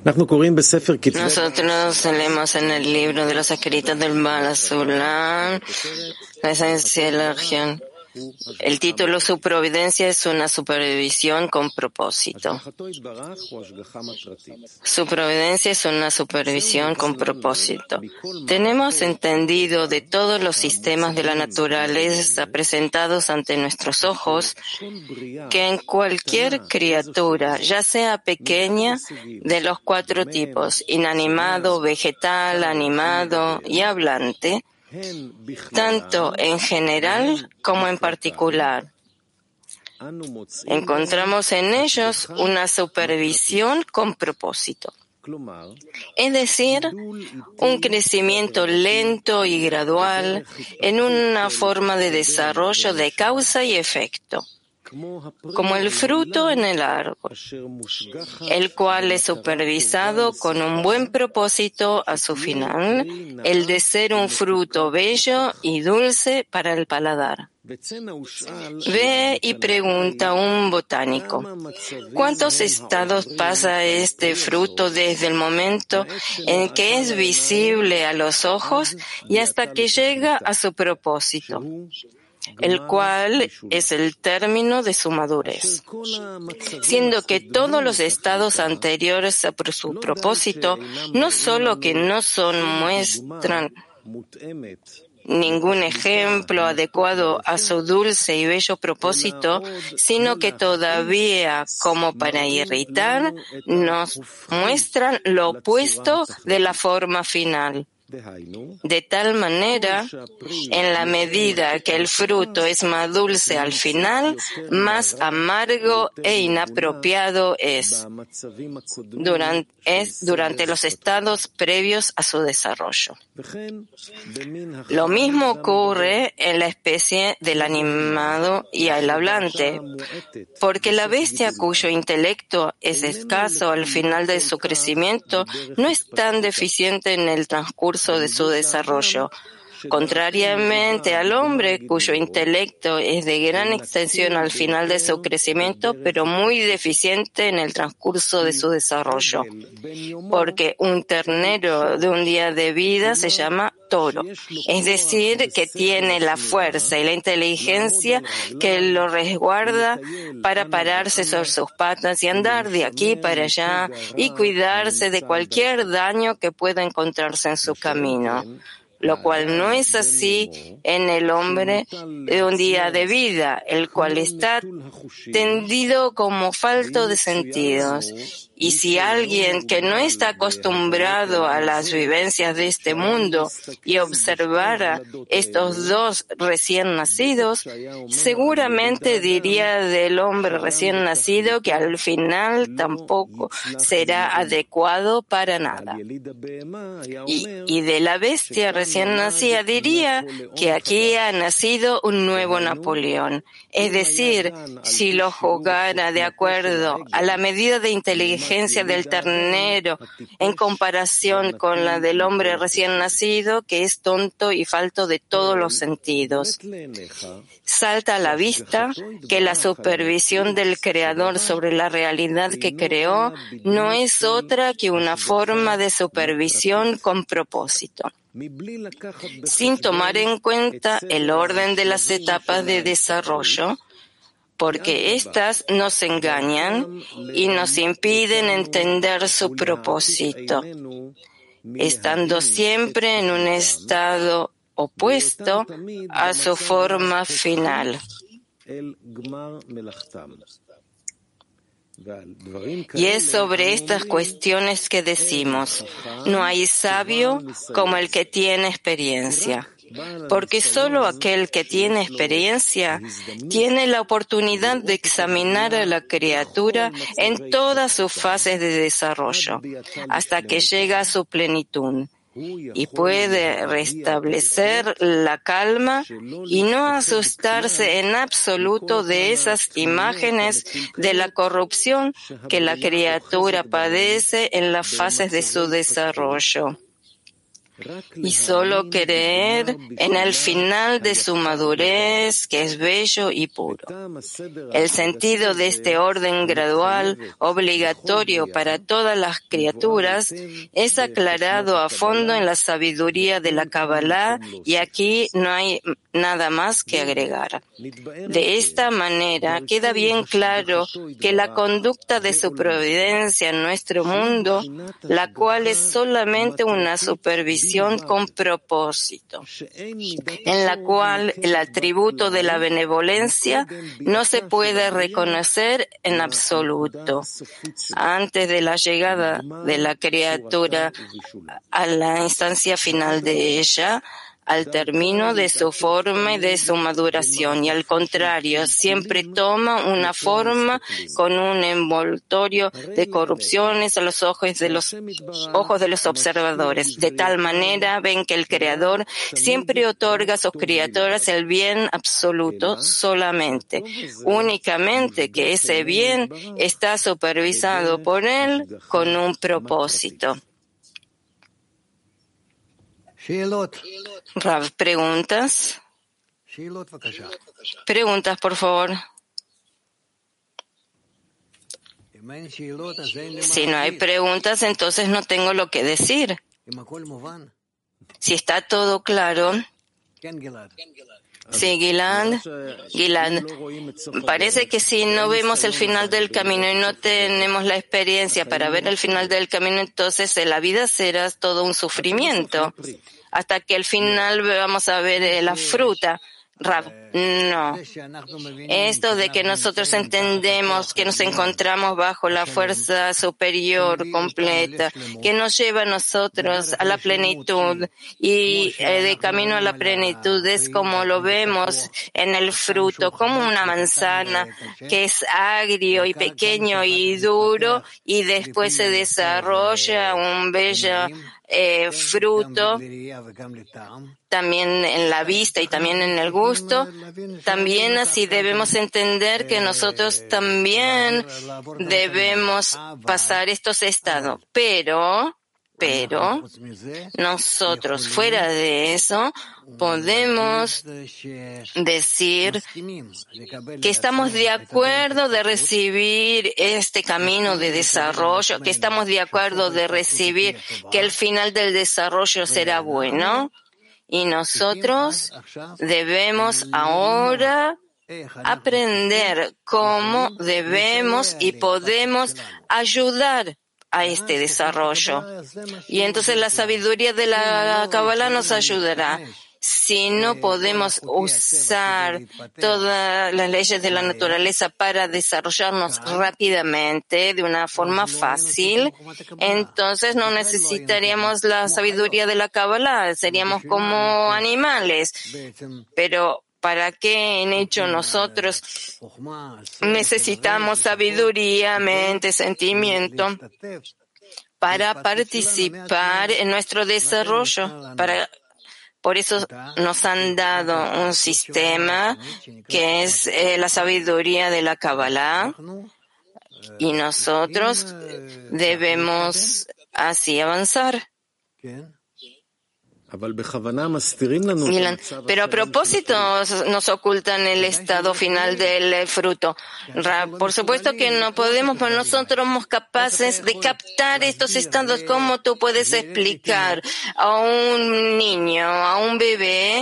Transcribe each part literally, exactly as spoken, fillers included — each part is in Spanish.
Nosotros leemos en el libro de los escritos del Baal HaSulam la esencia de la región. El título Su providencia es una supervisión con propósito. Su providencia es una supervisión con propósito. Tenemos entendido de todos los sistemas de la naturaleza presentados ante nuestros ojos que en cualquier criatura, ya sea pequeña, de los cuatro tipos, inanimado, vegetal, animado y hablante, tanto en general como en particular, encontramos en ellos una supervisión con propósito. Es decir, un crecimiento lento y gradual en una forma de desarrollo de causa y efecto, como el fruto en el árbol, el cual es supervisado con un buen propósito a su final, el de ser un fruto bello y dulce para el paladar. Ve y pregunta a un botánico, ¿cuántos estados pasa este fruto desde el momento en que es visible a los ojos y hasta que llega a su propósito, el cual es el término de su madurez? Siendo que todos los estados anteriores a su propósito no solo que no son muestran ningún ejemplo adecuado a su dulce y bello propósito, sino que todavía, como para irritar, nos muestran lo opuesto de la forma final. De tal manera, en la medida que el fruto es más dulce al final, más amargo e inapropiado es durante, es durante los estados previos a su desarrollo. Lo mismo ocurre en la especie del animado y el hablante, porque la bestia cuyo intelecto es escaso al final de su crecimiento no es tan deficiente en el transcurso de su desarrollo, contrariamente al hombre cuyo intelecto es de gran extensión al final de su crecimiento, pero muy deficiente en el transcurso de su desarrollo, porque un ternero de un día de vida se llama toro, es decir, que tiene la fuerza y la inteligencia que lo resguarda para pararse sobre sus patas y andar de aquí para allá y cuidarse de cualquier daño que pueda encontrarse en su camino, lo cual no es así en el hombre de un día de vida, el cual está tendido como falto de sentidos. Y si alguien que no está acostumbrado a las vivencias de este mundo y observara estos dos recién nacidos, seguramente diría del hombre recién nacido que al final tampoco será adecuado para nada. Y, y de la bestia recién nacida diría que aquí ha nacido un nuevo Napoleón. Es decir, si lo jugara de acuerdo a la medida de inteligencia del ternero en comparación con la del hombre recién nacido, que es tonto y falto de todos los sentidos. Salta a la vista que la supervisión del Creador sobre la realidad que creó no es otra que una forma de supervisión con propósito, sin tomar en cuenta el orden de las etapas de desarrollo, porque éstas nos engañan y nos impiden entender su propósito, estando siempre en un estado opuesto a su forma final. Y es sobre estas cuestiones que decimos, no hay sabio como el que tiene experiencia. Porque solo aquel que tiene experiencia tiene la oportunidad de examinar a la criatura en todas sus fases de desarrollo, hasta que llega a su plenitud, y puede restablecer la calma y no asustarse en absoluto de esas imágenes de la corrupción que la criatura padece en las fases de su desarrollo. y solo creer en el final de su madurez, que es bello y puro. El sentido de este orden gradual, obligatorio para todas las criaturas, es aclarado a fondo en la sabiduría de la Kabbalah, y aquí no hay nada más que agregar. De esta manera queda bien claro que la conducta de su providencia en nuestro mundo, la cual es solamente una supervisión con propósito, en la cual el atributo de la benevolencia no se puede reconocer en absoluto. Antes de la llegada de la criatura a la instancia final de ella, al término de su forma y de su maduración, y al contrario, siempre toma una forma con un envoltorio de corrupciones a los ojos de los ojos de los observadores. De tal manera ven que el Creador siempre otorga a sus criaturas el bien absoluto solamente, únicamente que ese bien está supervisado por Él con un propósito. Rav, preguntas. Preguntas, por favor. Si no hay preguntas, entonces no tengo lo que decir. Si está todo claro. Sí, Gilad. Gilad. Parece que si no vemos el final del camino y no tenemos la experiencia para ver el final del camino, entonces la vida será todo un sufrimiento. Hasta que al final vamos a ver la fruta. Rav, no. Esto de que nosotros entendemos que nos encontramos bajo la fuerza superior completa, que nos lleva a nosotros a la plenitud, y eh, de camino a la plenitud es como lo vemos en el fruto, como una manzana que es agrio y pequeño y duro, y después se desarrolla un bello Eh, fruto, también en la vista y también en el gusto. También así debemos entender que nosotros también debemos pasar estos estados, pero pero nosotros fuera de eso podemos decir que estamos de acuerdo de recibir este camino de desarrollo, que estamos de acuerdo de recibir que el final del desarrollo será bueno, y nosotros debemos ahora aprender cómo debemos y podemos ayudar a este desarrollo. Y entonces la sabiduría de la Kabbalah nos ayudará. Si no podemos usar todas las leyes de la naturaleza para desarrollarnos rápidamente, de una forma fácil, entonces no necesitaríamos la sabiduría de la Kabbalah, seríamos como animales. Pero ¿para qué en hecho nosotros necesitamos sabiduría, mente, sentimiento para participar en nuestro desarrollo? Para, por eso nos han dado un sistema que es eh, la sabiduría de la Kabbalah, y nosotros debemos así avanzar. Pero a propósito nos ocultan el estado final del fruto. Por supuesto que no podemos, pero nosotros somos capaces de captar estos estados. ¿Cómo tú puedes explicar a un niño, a un bebé,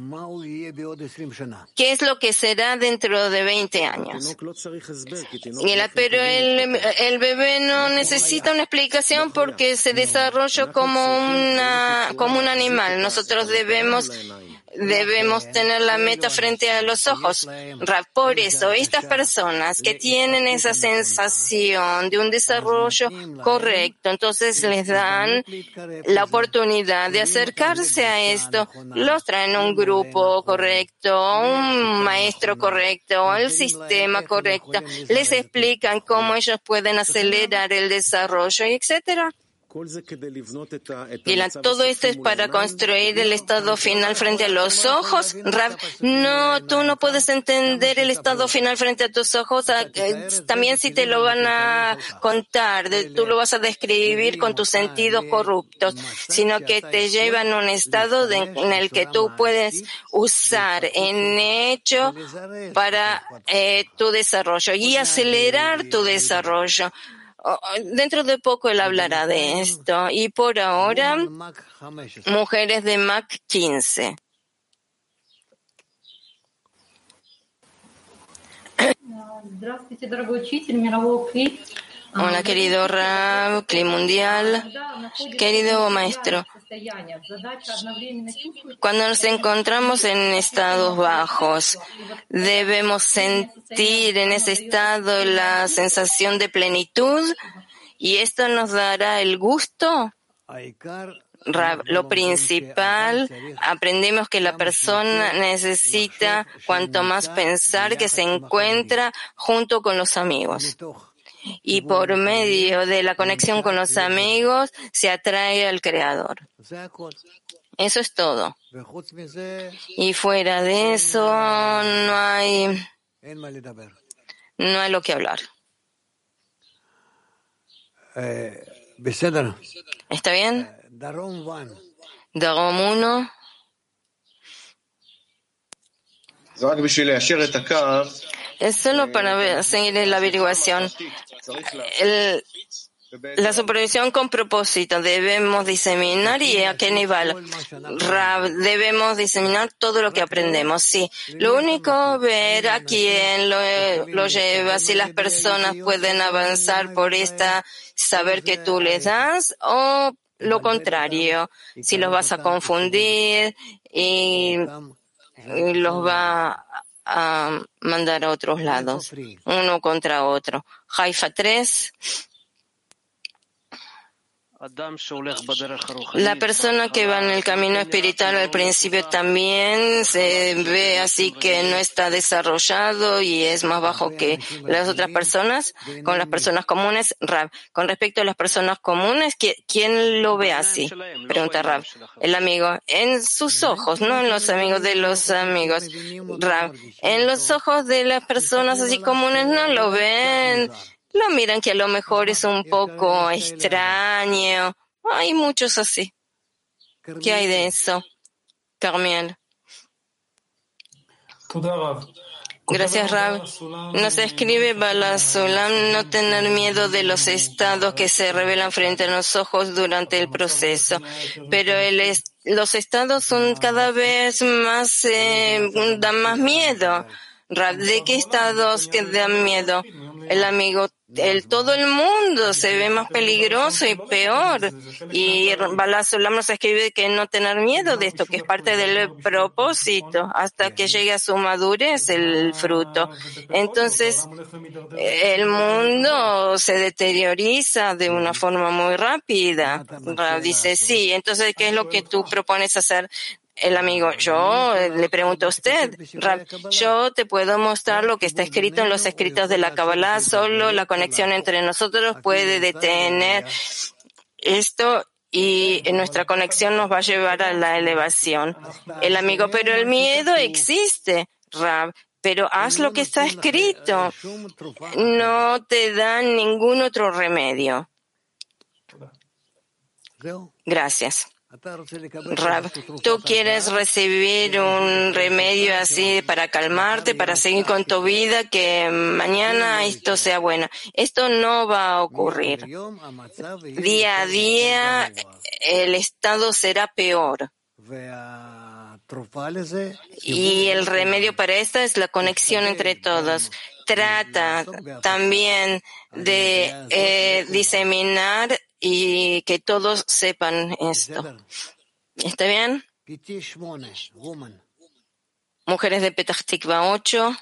qué es lo que será dentro de veinte años? Pero el, el bebé no necesita una explicación porque se desarrolla como una, como un animal. Nosotros debemos Debemos tener la meta frente a los ojos. Por eso, estas personas que tienen esa sensación de un desarrollo correcto, entonces les dan la oportunidad de acercarse a esto. Los traen a un grupo correcto, un maestro correcto, el sistema correcto. Les explican cómo ellos pueden acelerar el desarrollo, etcétera. Gilad, todo esto es para construir el estado final frente a los ojos. Rav, no, tú no puedes entender el estado final frente a tus ojos. También si te lo van a contar, tú lo vas a describir con tus sentidos corruptos, sino que te llevan a un estado de, en el que tú puedes usar en hecho para eh, tu desarrollo y acelerar tu desarrollo. Dentro de poco él hablará de esto. Y por ahora, mujeres de Mac quince. Hola, querido Rav, Cli Mundial, querido maestro. Cuando nos encontramos en estados bajos, debemos sentir en ese estado la sensación de plenitud y esto nos dará el gusto. Rav, lo principal, aprendemos que la persona necesita cuanto más pensar que se encuentra junto con los amigos. Y por medio de la conexión con los amigos se atrae al Creador. Eso es todo. Y fuera de eso no hay, no hay lo que hablar. ¿Está bien? Darom uno. Es solo para ver, seguir la averiguación. El, la supervisión con propósito. Debemos diseminar y a qué nivel. Debemos diseminar todo lo que aprendemos. Sí. Lo único, ver a quién lo, lo lleva, si las personas pueden avanzar por esta saber que tú les das o lo contrario, si los vas a confundir y, y los va a mandar a otros lados, uno contra otro. Haifa tres. La persona que va en el camino espiritual al principio también se ve así que no está desarrollado y es más bajo que las otras personas, con las personas comunes. Rav, con respecto a las personas comunes, ¿quién lo ve así? Pregunta Rav. El amigo, en sus ojos, no en los amigos de los amigos. Rav, en los ojos de las personas así comunes no lo ven. Lo miran que a lo mejor es un poco extraño. Hay muchos así. ¿Qué hay de eso? Carmiel. Gracias, Rav. Nos escribe Bala Sulam no tener miedo de los estados que se revelan frente a los ojos durante el proceso. Pero el est- los estados son cada vez más, eh, dan más miedo. Rav, ¿de qué estados que dan miedo? El amigo, el, todo el mundo se ve más peligroso y peor. Y Bala Sulam nos escribe que no tener miedo de esto, que es parte del propósito, hasta que llegue a su madurez el fruto. Entonces, el mundo se deterioriza de una forma muy rápida. Rav dice, sí, entonces, ¿qué es lo que tú propones hacer? El amigo, yo le pregunto a usted, Rav, yo te puedo mostrar lo que está escrito en los escritos de la Kabbalah, solo la conexión entre nosotros puede detener esto y nuestra conexión nos va a llevar a la elevación. El amigo, pero el miedo existe, Rav, pero haz lo que está escrito. No te dan ningún otro remedio. Gracias. Rav, ¿tú quieres recibir un remedio así para calmarte, para seguir con tu vida, que mañana esto sea bueno? Esto no va a ocurrir. Día a día el estado será peor. Y el remedio para esto es la conexión entre todos. Trata también de eh, diseminar y que todos sepan esto. ¿Está bien? Mujeres de Petah Tikva ocho.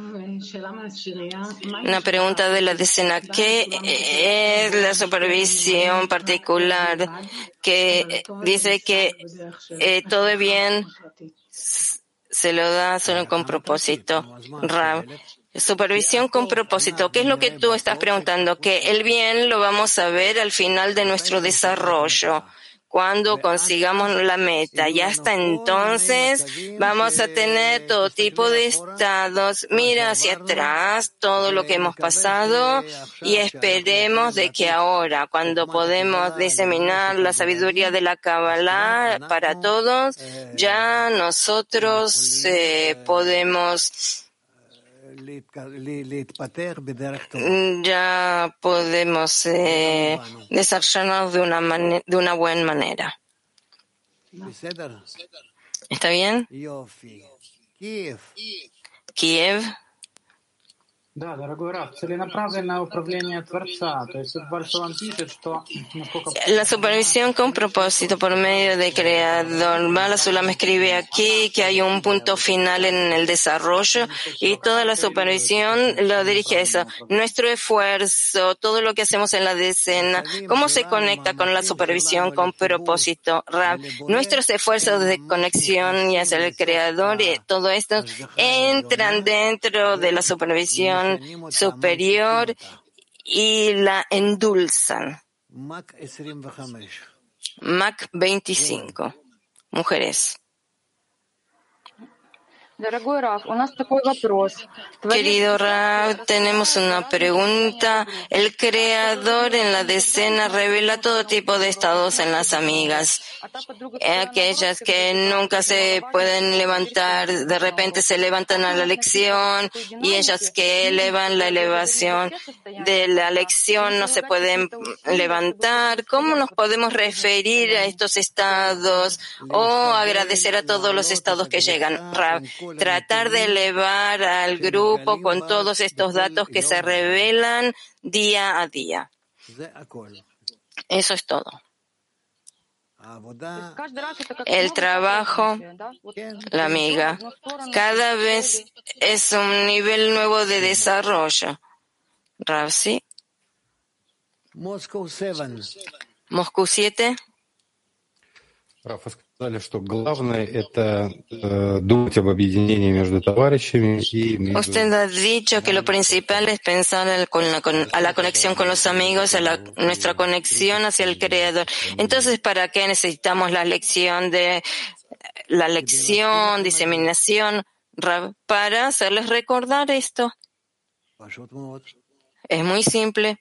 Una pregunta de la decena. ¿Qué es la supervisión particular que dice que eh, todo es bien, se lo da solo con propósito? Rav, Supervisión con propósito. ¿Qué es lo que tú estás preguntando? Que el bien lo vamos a ver al final de nuestro desarrollo, cuando consigamos la meta. Y hasta entonces vamos a tener todo tipo de estados. Mira hacia atrás todo lo que hemos pasado y esperemos de que ahora, cuando podemos diseminar la sabiduría de la Kabbalah para todos, ya nosotros eh, podemos ya podemos eh, desarrollarnos de una, mane- de una buena manera. ¿Está bien? Kiev. Да, дорогой Раф, целенаправленное управление Творца. То есть Баршалам пишет, что La supervisión con propósito por medio del Creador. Bala Sulam escribe aquí que hay un punto final en el desarrollo y toda la supervisión lo dirige a eso. Nuestro esfuerzo, todo lo que hacemos en la decena, ¿cómo se conecta con la supervisión con propósito? Rab, nuestros esfuerzos de conexión y hacia el Creador y todo esto entran dentro de la supervisión superior y la endulzan. Mac veinticinco. Mujeres. Querido Rab, tenemos una pregunta. El Creador en la decena revela todo tipo de estados en las amigas. Aquellas que nunca se pueden levantar, de repente se levantan a la lección, y ellas que elevan la elevación de la lección no se pueden levantar. ¿Cómo nos podemos referir a estos estados o agradecer a todos los estados que llegan? Rab, tratar de elevar al grupo con todos estos datos que se revelan día a día. Eso es todo. El trabajo, la amiga, cada vez es un nivel nuevo de desarrollo. Ravsi. Moscú siete. Usted ha dicho que lo principal es pensar el, con la, con, a la conexión con los amigos, a la, nuestra conexión hacia el Creador. Entonces, ¿para qué necesitamos la lección de la lección, diseminación? Para hacerles recordar esto. Es muy simple.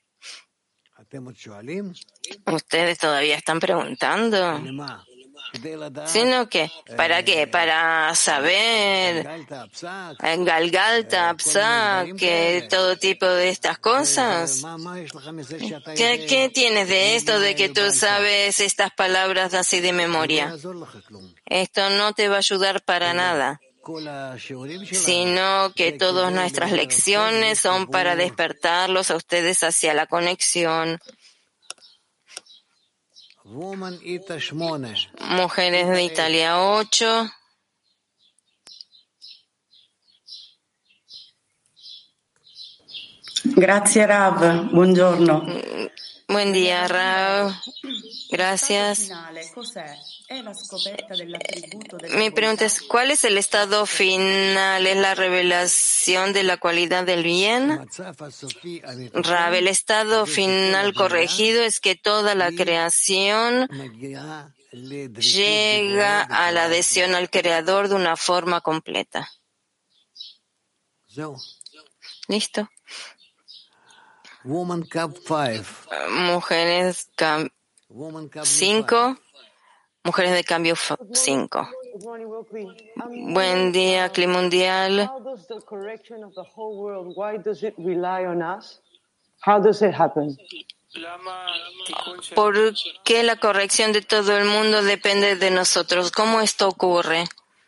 Ustedes todavía están preguntando. Sino que, ¿para qué? Para saber en Galgalta, Psa, que todo tipo de estas cosas. ¿Qué, ¿Qué tienes de esto de que tú sabes estas palabras así de memoria? Esto no te va a ayudar para nada, sino que todas nuestras lecciones son para despertarlos a ustedes hacia la conexión. Mujeres de Italia ocho. Gracias, Rav. Buongiorno. Buen día, Rav. Gracias. Mi pregunta es, ¿cuál es el estado final? ¿Es la revelación de la cualidad del bien? Rav, el estado final corregido es que toda la creación llega a la adhesión al Creador de una forma completa. ¿Listo? Mujeres cinco. Mujeres de cambio cinco. Buen día, clima mundial. ¿Por qué la corrección de todo el mundo depende de nosotros? ¿Cómo esto ocurre?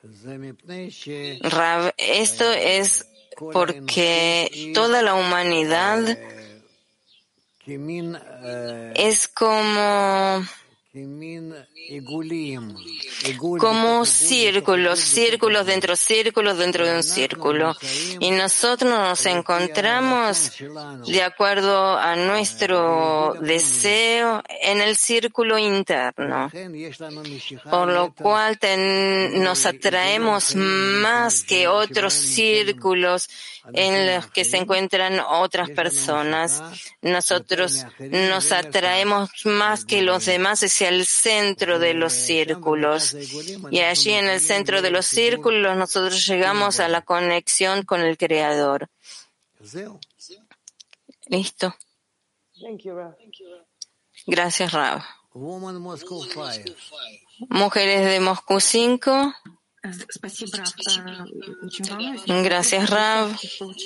Rav, esto es porque toda la humanidad es como como círculos, círculos dentro de círculos dentro de un círculo. Y nosotros nos encontramos de acuerdo a nuestro deseo en el círculo interno, por lo cual ten, nos atraemos más que otros círculos en los que se encuentran otras personas. Nosotros nos atraemos más que los demás hacia el centro de los círculos. Y allí en el centro de los círculos nosotros llegamos a la conexión con el Creador. Listo. Gracias, Rav. Mujeres de Moscú cinco. Gracias, Rav.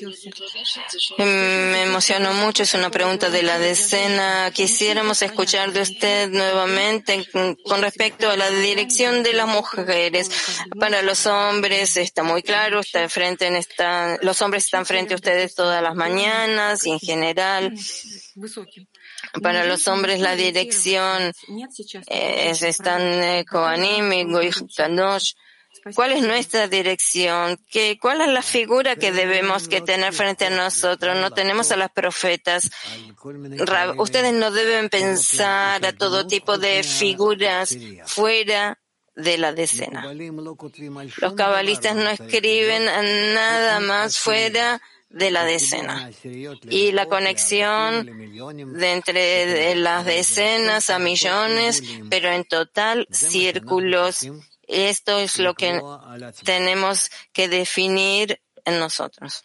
Me emocionó mucho, es una pregunta de la decena. Quisiéramos escuchar de usted nuevamente con respecto a la dirección de las mujeres. Para los hombres está muy claro, está frente en esta, los hombres están frente a ustedes todas las mañanas y en general. Para los hombres la dirección es, están eh, Kohanim y Goy Kadosh. ¿Cuál es nuestra dirección? ¿Qué, ¿Cuál es la figura que debemos que tener frente a nosotros? No tenemos a las profetas. Ustedes no deben pensar a todo tipo de figuras fuera de la decena. Los cabalistas no escriben nada más fuera de la decena. Y la conexión de entre de las decenas a millones, pero en total círculos. Esto es lo que tenemos que definir en nosotros.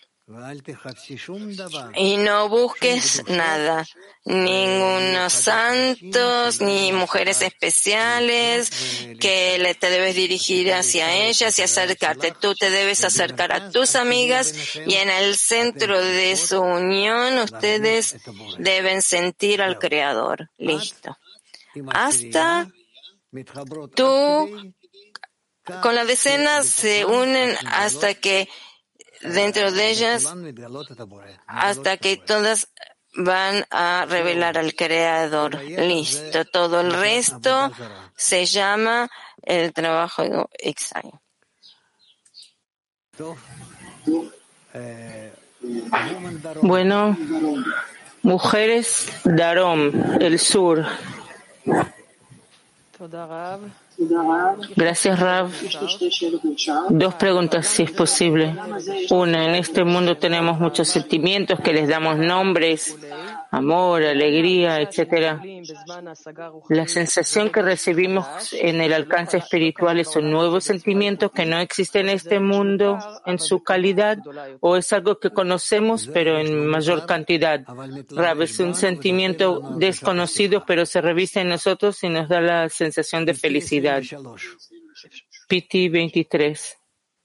Y no busques nada, ningunos santos, ni mujeres especiales, que le te debes dirigir hacia ellas y acercarte. Tú te debes acercar a tus amigas y en el centro de su unión ustedes deben sentir al Creador. Listo. Hasta tú con la decena se unen hasta que dentro de ellas, hasta que todas van a revelar al Creador. Listo. Todo el resto se llama el trabajo extraño. Bueno, mujeres Darom, el sur. Gracias, Rav. Dos preguntas, si es posible. Una, en este mundo tenemos muchos sentimientos que les damos nombres, amor, alegría, etcétera. La sensación que recibimos en el alcance espiritual es un nuevo sentimiento que no existe en este mundo en su calidad, o es algo que conocemos pero en mayor cantidad. Rav, es un sentimiento desconocido pero se revisa en nosotros y nos da la sensación de felicidad. P T veintitrés.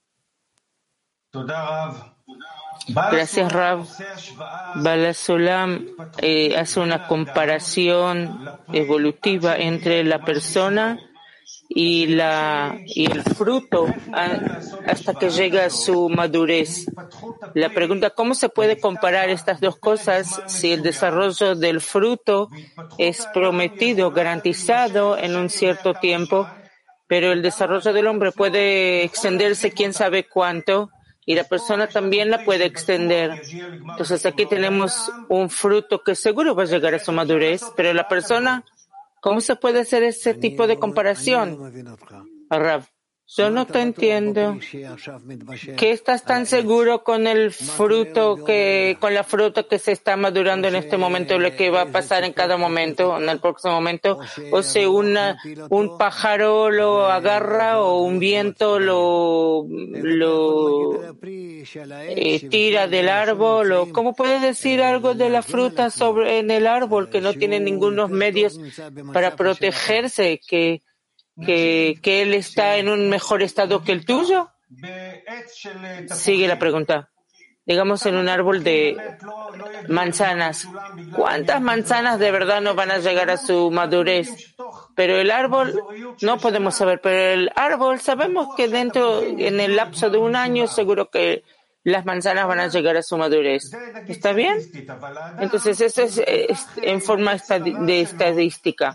Gracias, Rav. Balasolam eh, hace una comparación evolutiva entre la persona y, la, y el fruto a, hasta que llega a su madurez. La pregunta, ¿cómo se puede comparar estas dos cosas si el desarrollo del fruto es prometido, garantizado en un cierto tiempo, pero el desarrollo del hombre puede extenderse quién sabe cuánto? Y la persona también la puede extender. Entonces aquí tenemos un fruto que seguro va a llegar a su madurez, pero la persona, ¿cómo se puede hacer ese tipo de comparación? Rav, yo no te entiendo. ¿Qué estás tan seguro con el fruto que, con la fruta que se está madurando en este momento, lo que va a pasar en cada momento, en el próximo momento? O sea, una, un pájaro lo agarra o un viento lo, lo eh, tira del árbol. O, ¿cómo puedes decir algo de la fruta sobre en el árbol que no tiene ningunos medios para protegerse? Que Que, que él está en un mejor estado que el tuyo? Sigue la pregunta. Digamos en un árbol de manzanas. ¿Cuántas manzanas de verdad no van a llegar a su madurez? Pero el árbol, no podemos saber, pero el árbol sabemos que dentro, en el lapso de un año, seguro que las manzanas van a llegar a su madurez. ¿Está bien? Entonces eso es, es en forma de estadística.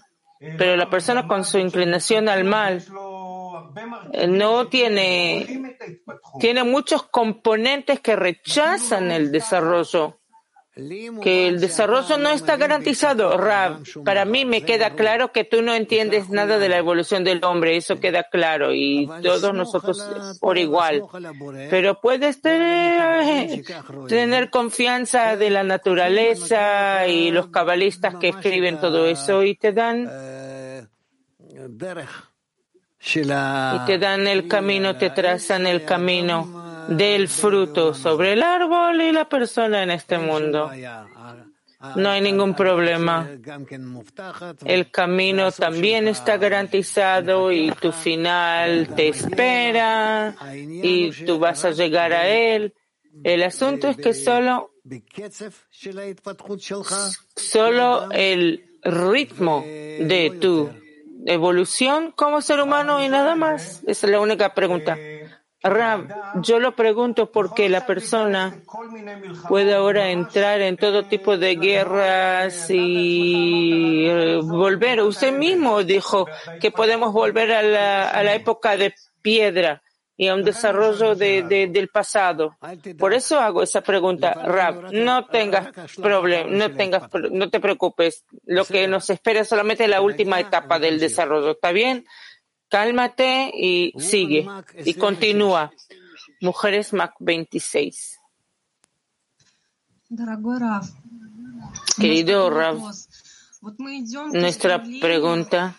pero la persona con su inclinación al mal no tiene, tiene muchos componentes que rechazan el desarrollo, que el desarrollo no está garantizado. Rav, para mí me queda claro que tú no entiendes nada de la evolución del hombre, eso queda claro, y todos nosotros por igual. Pero puedes tener, tener confianza de la naturaleza y los cabalistas que escriben todo eso y te dan y te dan el camino, te trazan el camino del fruto sobre el árbol y la persona en este mundo. No hay ningún problema. El camino también está garantizado y tu final te espera y tú vas a llegar a él. El asunto es que solo, solo el ritmo de tu evolución como ser humano y nada más. Esa es la única pregunta. Rav, yo lo pregunto porque la persona puede ahora entrar en todo tipo de guerras y volver. Usted mismo dijo que podemos volver a la, a la época de piedra y a un desarrollo de, de, del pasado. Por eso hago esa pregunta. Rav, no tengas problema, no tengas, no te preocupes. Lo que nos espera es solamente la última etapa del desarrollo. ¿Está bien? Cálmate y sigue. Y continúa. Mujeres Mac veintiséis. Querido Rav, nuestra pregunta,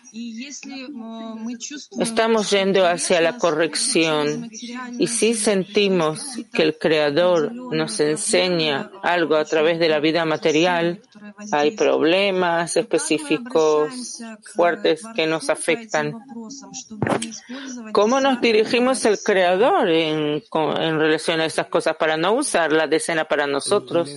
estamos yendo hacia la corrección y si sentimos que el Creador nos enseña algo a través de la vida material, hay problemas específicos fuertes que nos afectan. ¿Cómo nos dirigimos al Creador en, en relación a esas cosas para no usar la decena para nosotros?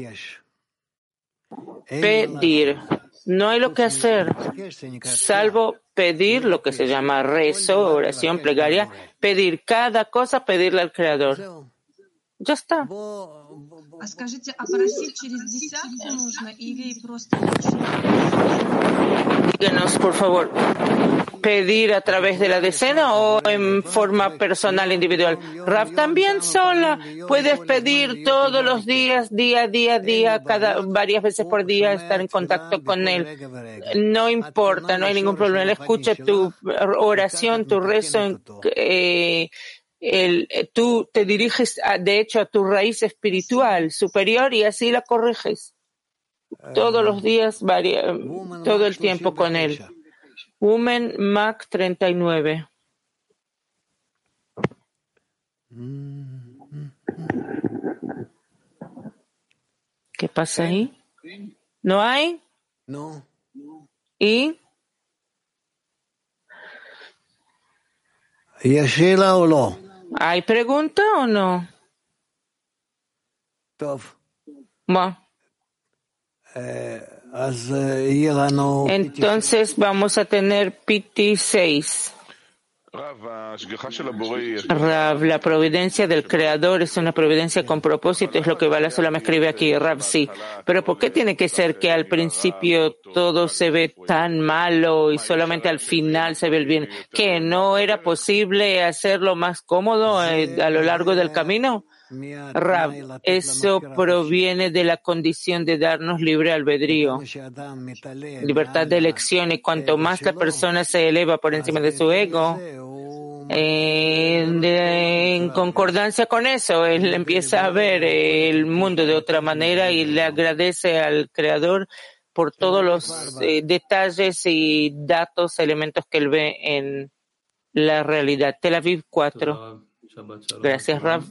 Pedir. No hay lo que hacer, salvo pedir lo que se llama rezo, oración, plegaria, pedir cada cosa, pedirle al Creador. Ya está. Díganos, por favor, pedir a través de la decena o en forma personal, individual. Rav, también sola puedes pedir todos los días, día, día, día, cada varias veces por día, estar en contacto con él. No importa, no hay ningún problema. Él escucha tu oración, tu rezo, eh, El, tú te diriges, a, de hecho, a tu raíz espiritual superior y así la corriges. Todos los días, varia, todo el tiempo con él. Woman Mac treinta y nueve. ¿Qué pasa ahí? ¿No hay? No. ¿Y? ¿Yashila o no? ¿Hay pregunta o no? Bueno. Entonces vamos a tener P T seis. Rav, la providencia del Creador es una providencia con propósito, es lo que Bala Sola me escribe aquí. Rav, sí. Pero ¿por qué tiene que ser que al principio todo se ve tan malo y solamente al final se ve el bien? ¿Que no era posible hacerlo más cómodo eh, a lo largo del camino? Rav, eso proviene de la condición de darnos libre albedrío, libertad de elección, y cuanto más la persona se eleva por encima de su ego, eh, de, en concordancia con eso, él empieza a ver el mundo de otra manera y le agradece al Creador por todos los eh, detalles y datos, elementos que él ve en la realidad. Tel Aviv cuatro. Gracias, Rav.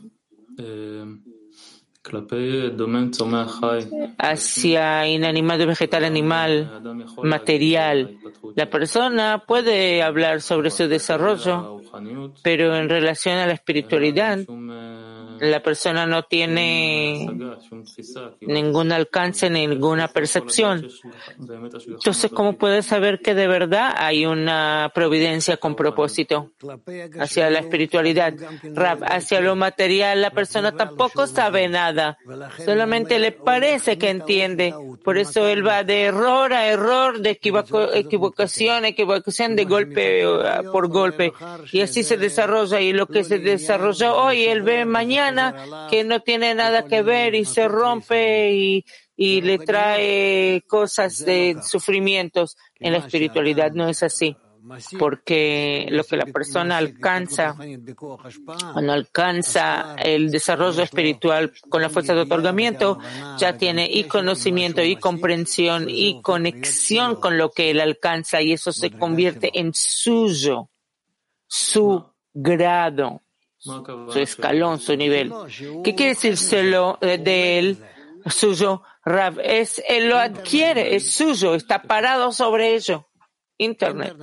Hacia inanimado, vegetal, animal, material. La persona puede hablar sobre su desarrollo, pero en relación a la espiritualidad, la persona no tiene ningún alcance, ninguna percepción. Entonces, ¿cómo puede saber que de verdad hay una providencia con propósito hacia la espiritualidad? Rab, hacia lo material la persona tampoco sabe nada, solamente le parece que entiende. Por eso él va de error a error, de equivoco, equivocación a equivocación, de golpe por golpe, y así se desarrolla. Y lo que se desarrolló hoy, él ve mañana que no tiene nada que ver y se rompe y, y le trae cosas de sufrimientos. En la espiritualidad no es así, porque lo que la persona alcanza, cuando alcanza el desarrollo espiritual con la fuerza de otorgamiento, ya tiene y conocimiento y comprensión y conexión con lo que él alcanza, y eso se convierte en suyo, su grado, su escalón, su nivel. ¿Qué quiere decírselo de él? Suyo, Rav, es, él lo adquiere, es suyo, está parado sobre ello. Internet.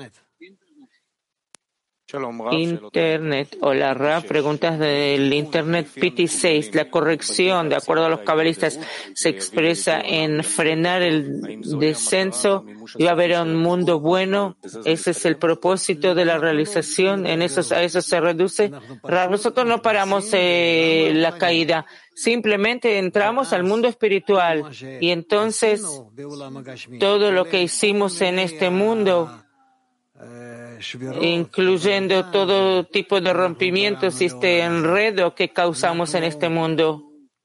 Internet. Hola, Rav. Preguntas del Internet. P T seis. La corrección, de acuerdo a los cabalistas, se expresa en frenar el descenso y va a haber un mundo bueno. Ese es el propósito de la realización. En eso, a eso se reduce. Rav, nosotros no paramos eh, la caída. Simplemente entramos al mundo espiritual. Y entonces, todo lo que hicimos en este mundo, incluyendo todo tipo de rompimientos y este enredo que causamos en este mundo,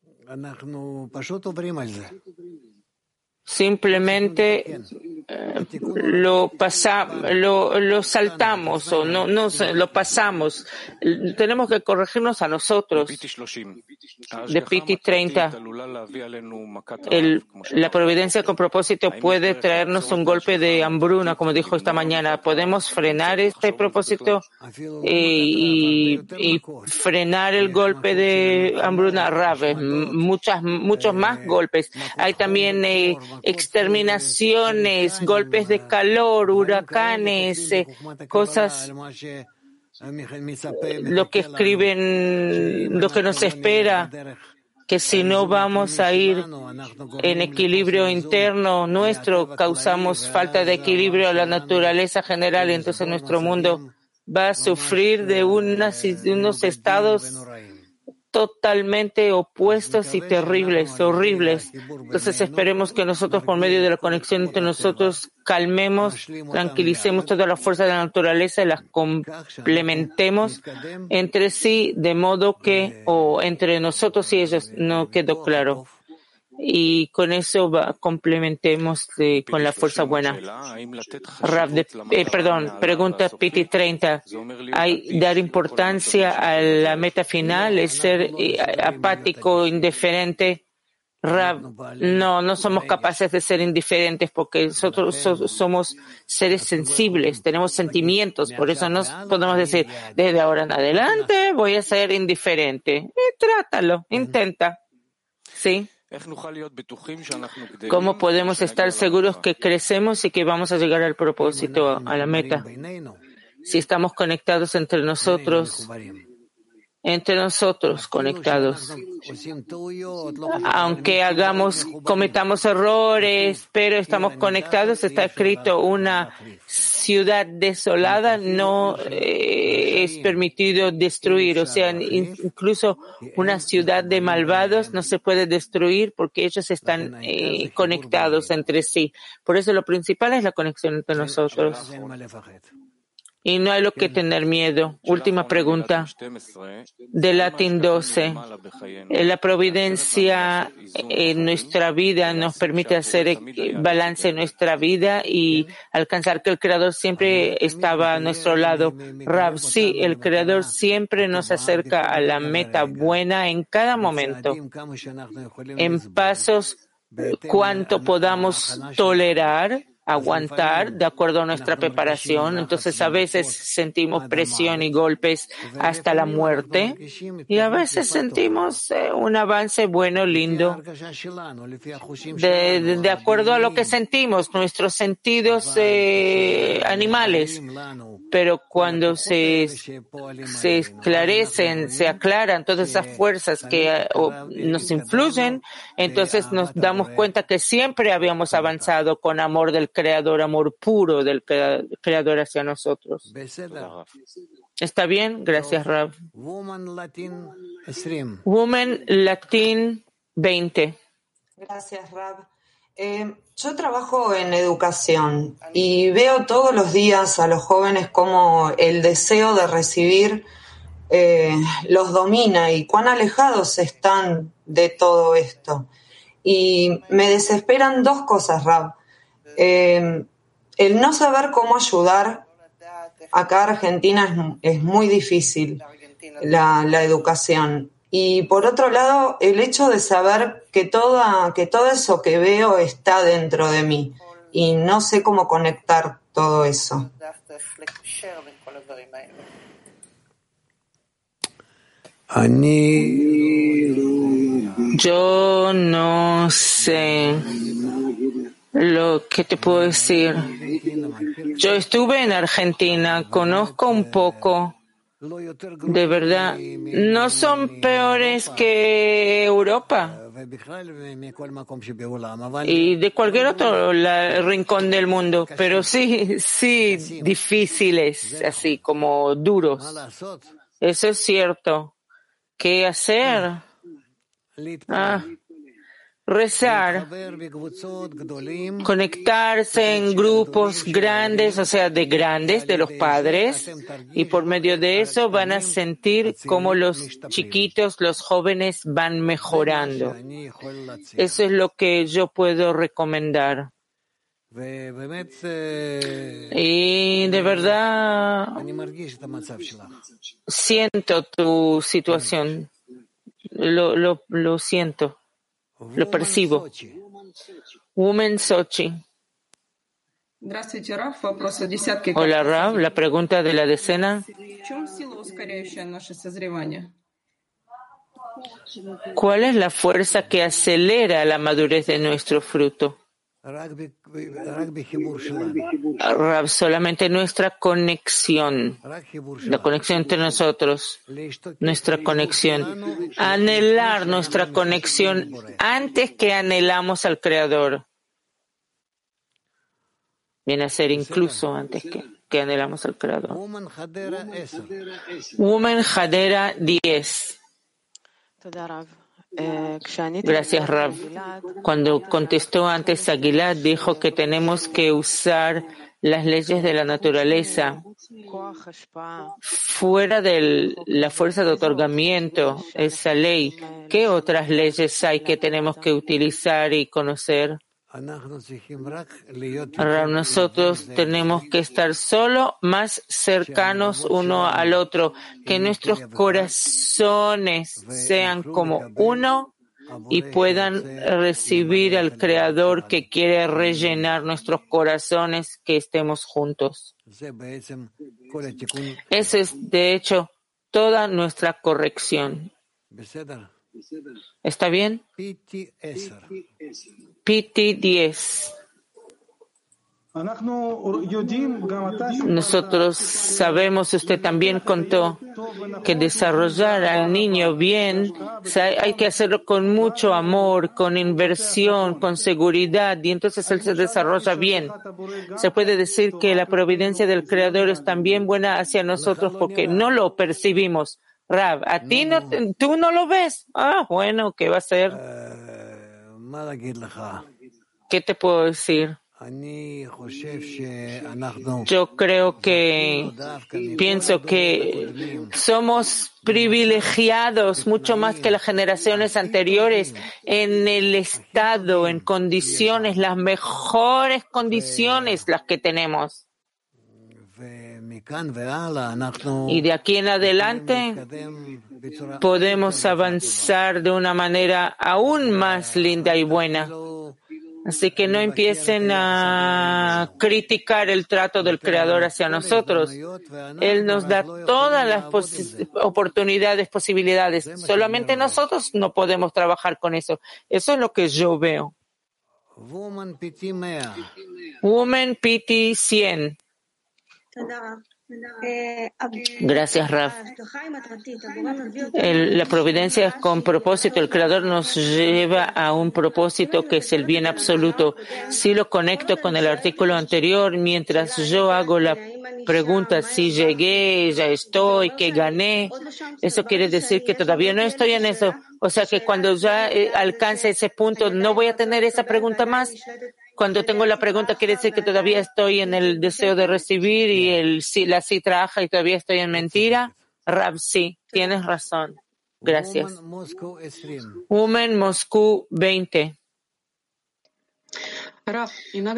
simplemente eh, lo pasa, lo, lo saltamos o no, no lo pasamos. Tenemos que corregirnos a nosotros. De P T treinta, el, la providencia con propósito puede traernos un golpe de hambruna, como dijo esta mañana. ¿Podemos frenar este propósito y, y, y frenar el golpe de hambruna? Rave, muchas, muchos más golpes. Hay también eh, exterminaciones, golpes de calor, huracanes, eh, cosas, lo que escriben, lo que nos espera, que si no vamos a ir en equilibrio interno nuestro, causamos falta de equilibrio a la naturaleza general, y entonces nuestro mundo va a sufrir de unas, unos estados totalmente opuestos y terribles, horribles. Entonces esperemos que nosotros, por medio de la conexión entre nosotros, calmemos, tranquilicemos todas las fuerzas de la naturaleza y las complementemos entre sí, de modo que, o entre nosotros y ellos, no quedó claro. Y con eso va, complementemos de, con la fuerza buena. Rav de, eh, perdón, pregunta P T treinta. ¿Hay dar importancia a la meta final? ¿Es ser eh, apático, indiferente? Rav, no, no somos capaces de ser indiferentes porque nosotros so, somos seres sensibles, tenemos sentimientos, por eso no podemos decir, desde ahora en adelante voy a ser indiferente. Eh, trátalo, intenta. ¿Sí? ¿Cómo podemos estar seguros que crecemos y que vamos a llegar al propósito, a la meta? Si estamos conectados entre nosotros, entre nosotros conectados. Aunque hagamos, cometamos errores, pero estamos conectados, está escrito, una ciudad desolada no eh, es permitido destruir. O sea, incluso una ciudad de malvados no se puede destruir porque ellos están eh, conectados entre sí. Por eso lo principal es la conexión entre nosotros. Y no hay lo que tener miedo. Última pregunta. De Latín doce. La providencia en nuestra vida nos permite hacer balance en nuestra vida y alcanzar que el Creador siempre estaba a nuestro lado. Rav, sí, el Creador siempre nos acerca a la meta buena en cada momento. En pasos, cuanto podamos tolerar aguantar de acuerdo a nuestra preparación. Entonces a veces sentimos presión y golpes hasta la muerte y a veces sentimos eh, un avance bueno, lindo, de, de, de acuerdo a lo que sentimos, nuestros sentidos eh, animales. Pero cuando se, se esclarecen, se aclaran todas esas fuerzas que eh, nos influyen, entonces nos damos cuenta que siempre habíamos avanzado con amor del Creador, amor puro del Creador hacia nosotros. ¿Está bien? Gracias, Rav. Woman Latin veinte. Gracias, Rav. Eh, yo trabajo en educación y veo todos los días a los jóvenes cómo el deseo de recibir eh, los domina y cuán alejados están de todo esto. Y me desesperan dos cosas, Rav. Eh, el no saber cómo ayudar. Acá en Argentina es, es muy difícil la, la educación. Y por otro lado, el hecho de saber que, toda, que todo eso que veo está dentro de mí y no sé cómo conectar todo eso. Yo no sé lo que te puedo decir. Yo estuve en Argentina, conozco un poco. De verdad, no son peores que Europa y de cualquier otro la, rincón del mundo, pero sí, sí, difíciles, así como duros. Eso es cierto. ¿Qué hacer? Ah, rezar, conectarse en grupos grandes, o sea, de grandes, de los padres, y por medio de eso van a sentir cómo los chiquitos, los jóvenes van mejorando. Eso es lo que yo puedo recomendar. Y de verdad siento tu situación, lo, lo, lo siento. Lo percibo. Woman Sochi. Hola, Rav. La pregunta de la decena. ¿Cuál es la fuerza que acelera la madurez de nuestro fruto? Rav, solamente nuestra conexión, la conexión entre nosotros, nuestra conexión, anhelar nuestra conexión antes que anhelamos al Creador. Viene a ser incluso antes que, que anhelamos al Creador. Woman Hadera diez. Gracias, Rav. Cuando contestó antes a Gilad, dijo que tenemos que usar las leyes de la naturaleza. Fuera de la fuerza de otorgamiento, esa ley, ¿qué otras leyes hay que tenemos que utilizar y conocer? Rav, nosotros tenemos que estar solo más cercanos uno al otro, que nuestros corazones sean como uno y puedan recibir al Creador que quiere rellenar nuestros corazones, que estemos juntos. Esa es, de hecho, toda nuestra corrección. ¿Está bien? P T diez. Nosotros sabemos, usted también contó, que desarrollar al niño bien hay que hacerlo con mucho amor, con inversión, con seguridad, y entonces él se desarrolla bien. Se puede decir que la providencia del Creador es también buena hacia nosotros porque no lo percibimos. Rav, ¿a ti no, tú no lo ves? Ah, bueno, ¿qué va a ser? ¿Qué te puedo decir? Yo creo que, pienso que somos privilegiados mucho más que las generaciones anteriores en el estado, en condiciones, las mejores condiciones las que tenemos. Y de aquí en adelante podemos avanzar de una manera aún más linda y buena. Así que no empiecen a criticar el trato del Creador hacia nosotros. Él nos da todas las pos- oportunidades, posibilidades. Solamente nosotros no podemos trabajar con eso. Eso es lo que yo veo. Woman P T cien. Gracias, Raf. El- la providencia es con propósito. El Creador nos lleva a un propósito que es el bien absoluto. Si lo conecto con el artículo anterior, mientras yo hago la pregunta si llegué, ya estoy, que gané, eso quiere decir que todavía no estoy en eso. O sea que cuando ya eh, alcance ese punto, no voy a tener esa pregunta más. Cuando tengo la pregunta, quiere decir que todavía estoy en el deseo de recibir y el sí, la sí trabaja y todavía estoy en mentira. Rab, sí, tienes razón. Gracias. Woman Moscú veinte. Rav,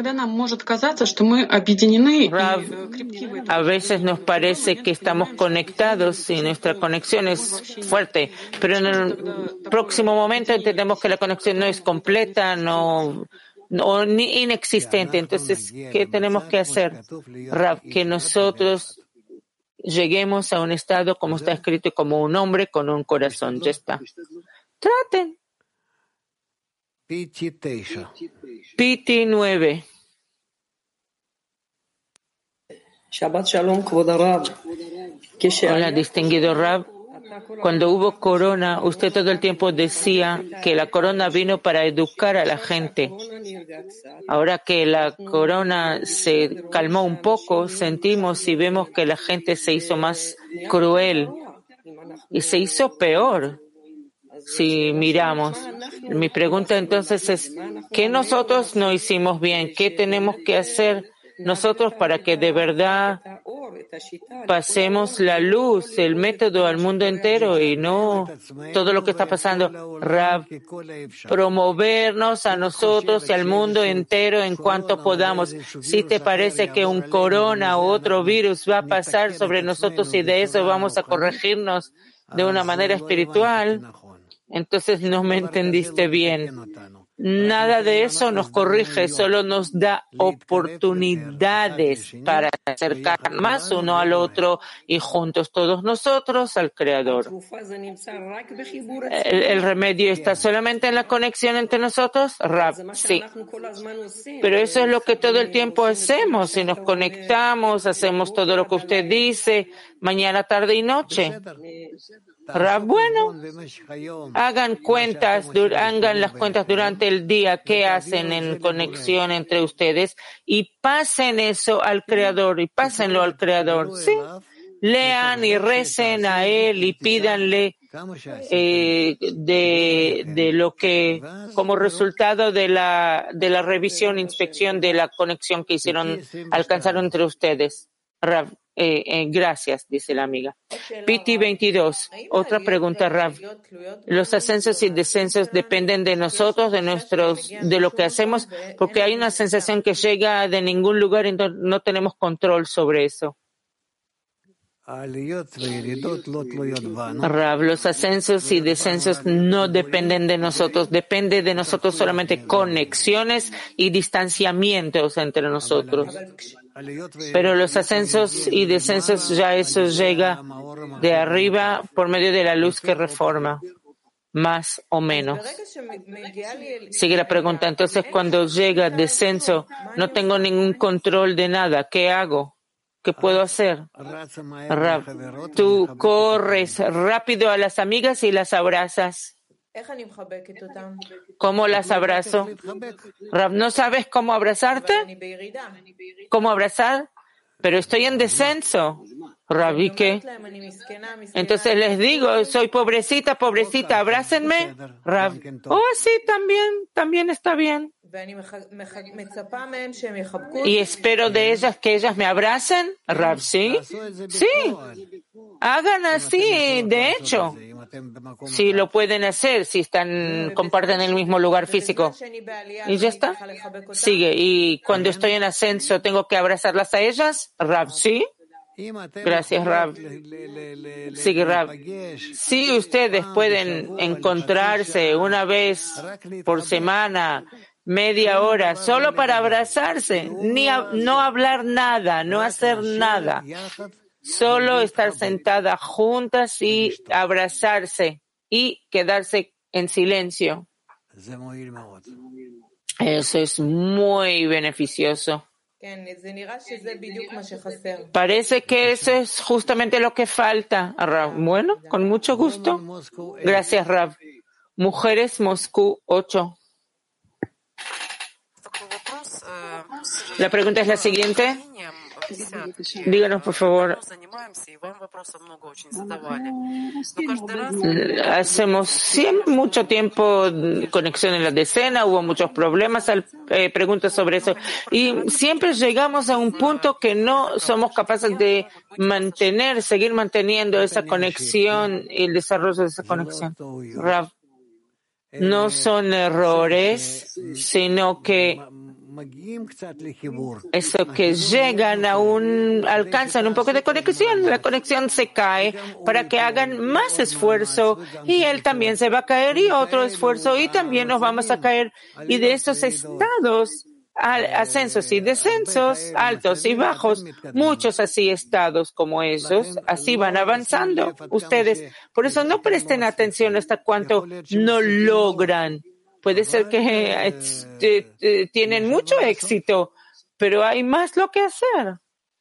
a veces nos parece que estamos conectados y nuestra conexión es fuerte, pero en el próximo momento entendemos que la conexión no es completa, no, no ni inexistente. Entonces, ¿qué tenemos que hacer, Rav? Que nosotros lleguemos a un estado, como está escrito, como un hombre con un corazón. Ya está. Traten. P T nueve. Hola, distinguido Rab. Cuando hubo corona, usted todo el tiempo decía que la corona vino para educar a la gente. Ahora que la corona se calmó un poco, sentimos y vemos que la gente se hizo más cruel y se hizo peor. Si miramos, mi pregunta entonces es, ¿qué nosotros no hicimos bien? ¿Qué tenemos que hacer nosotros para que de verdad pasemos la luz, el método al mundo entero y no todo lo que está pasando? Rab, promovernos a nosotros y al mundo entero en cuanto podamos. Si te parece que un corona o otro virus va a pasar sobre nosotros y de eso vamos a corregirnos de una manera espiritual, entonces no me entendiste bien. Nada de eso nos corrige, solo nos da oportunidades para acercar más uno al otro y juntos todos nosotros al Creador. ¿El, el remedio está solamente en la conexión entre nosotros? Rab, sí. Pero eso es lo que todo el tiempo hacemos. Si nos conectamos, hacemos todo lo que usted dice, mañana, tarde y noche. Rab, bueno, hagan cuentas, hagan las cuentas durante el día que hacen en conexión entre ustedes y pasen eso al Creador y pásenlo al Creador. Sí, lean y recen a Él y pídanle eh, de, de lo que, como resultado de la, de la revisión, inspección de la conexión que hicieron, alcanzaron entre ustedes. Rab, Eh, eh, gracias, dice la amiga. P T veintidós. Otra pregunta, Rav. ¿Los ascensos y descensos dependen de nosotros, de nuestros, de lo que hacemos? Porque hay una sensación que llega de ningún lugar y no, no tenemos control sobre eso. Rav, los ascensos y descensos no dependen de nosotros, depende de nosotros solamente conexiones y distanciamientos entre nosotros. Pero los ascensos y descensos ya eso llega de arriba por medio de la luz que reforma, más o menos. Sigue la pregunta, entonces cuando llega descenso, no tengo ningún control de nada, ¿qué hago? ¿Qué puedo hacer? Rab, tú corres rápido a las amigas y las abrazas. ¿Cómo las abrazo? Rab, ¿no sabes cómo abrazarte? ¿Cómo abrazar? Pero estoy en descenso. Rab, ¿y qué? Entonces les digo, soy pobrecita, pobrecita, abrácenme. Rab, oh, sí, también, también está bien. Y espero de ellas que ellas me abracen. Rab, ¿sí? Sí. Hagan así, de hecho. Si lo pueden hacer, si están, comparten el mismo lugar físico. Y ya está. Sigue. Y cuando estoy en ascenso, ¿tengo que abrazarlas a ellas? Rab, ¿sí? Gracias, Rab. Sigue, Rab. Si ustedes pueden encontrarse una vez por semana media hora, solo para abrazarse, ni a, no hablar nada, no hacer nada, solo estar sentadas juntas y abrazarse y quedarse en silencio. Eso es muy beneficioso. Parece que eso es justamente lo que falta, Rav. Bueno, con mucho gusto. Gracias, Rav. Mujeres, Moscú, ocho. La pregunta es la siguiente. Díganos, por favor. Hacemos siempre mucho tiempo conexión en la decena, hubo muchos problemas, eh, preguntas sobre eso, y siempre llegamos a un punto que no somos capaces de mantener, seguir manteniendo esa conexión y el desarrollo de esa conexión. Rav, no son errores, sino que eso que llegan a un, alcanzan un poco de conexión, la conexión se cae para que hagan más esfuerzo y él también se va a caer y otro esfuerzo y también nos vamos a caer. Y de esos estados, ascensos y descensos, altos y bajos, muchos así estados como esos, así van avanzando ustedes. Por eso no presten atención hasta cuánto no logran. Puede ser que eh, eh, tienen mucho éxito, pero hay más lo que hacer.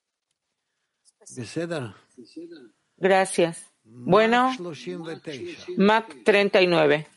Gracias. Bueno, Mac treinta y nueve.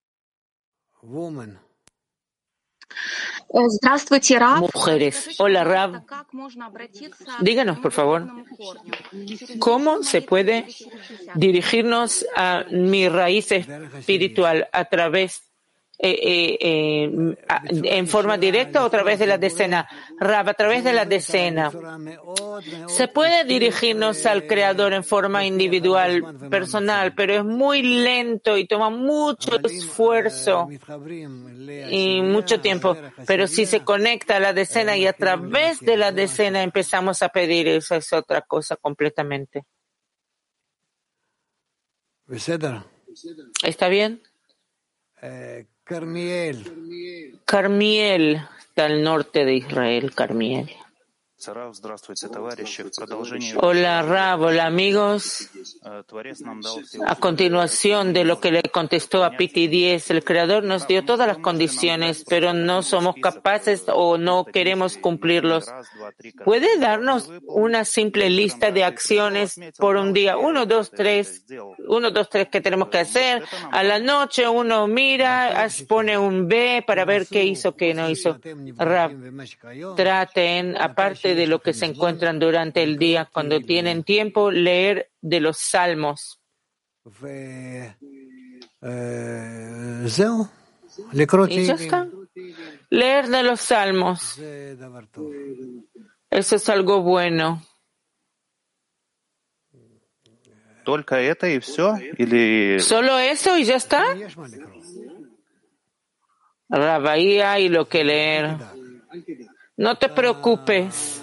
Mujeres. Hola, Rav. Díganos, por favor, ¿cómo se puede dirigirnos a mi raíz espiritual a través Eh, eh, eh, en forma directa o a través de la decena? Rav, a través de la decena. Se puede dirigirnos al Creador en forma individual, personal, pero es muy lento y toma mucho esfuerzo y mucho tiempo. Pero si se conecta a la decena y a través de la decena empezamos a pedir, eso es otra cosa completamente. ¿Está bien? Carmiel. Carmiel, está al norte de Israel, Carmiel. Hola, Rav, hola, amigos. A continuación de lo que le contestó a Piti diez, el Creador nos dio todas las condiciones, pero no somos capaces o no queremos cumplirlos. ¿Puede darnos una simple lista de acciones por un día? Uno, dos, tres, uno, dos, tres que tenemos que hacer. A la noche uno mira, pone un B para ver qué hizo, qué no hizo. Rav, traten, aparte de lo que se encuentran durante el día, cuando tienen tiempo, leer de los salmos. Y ya está. Leer de los salmos. Eso es algo bueno. ¿Solo eso y ya está? Rav, ahí hay lo que leer. No te preocupes.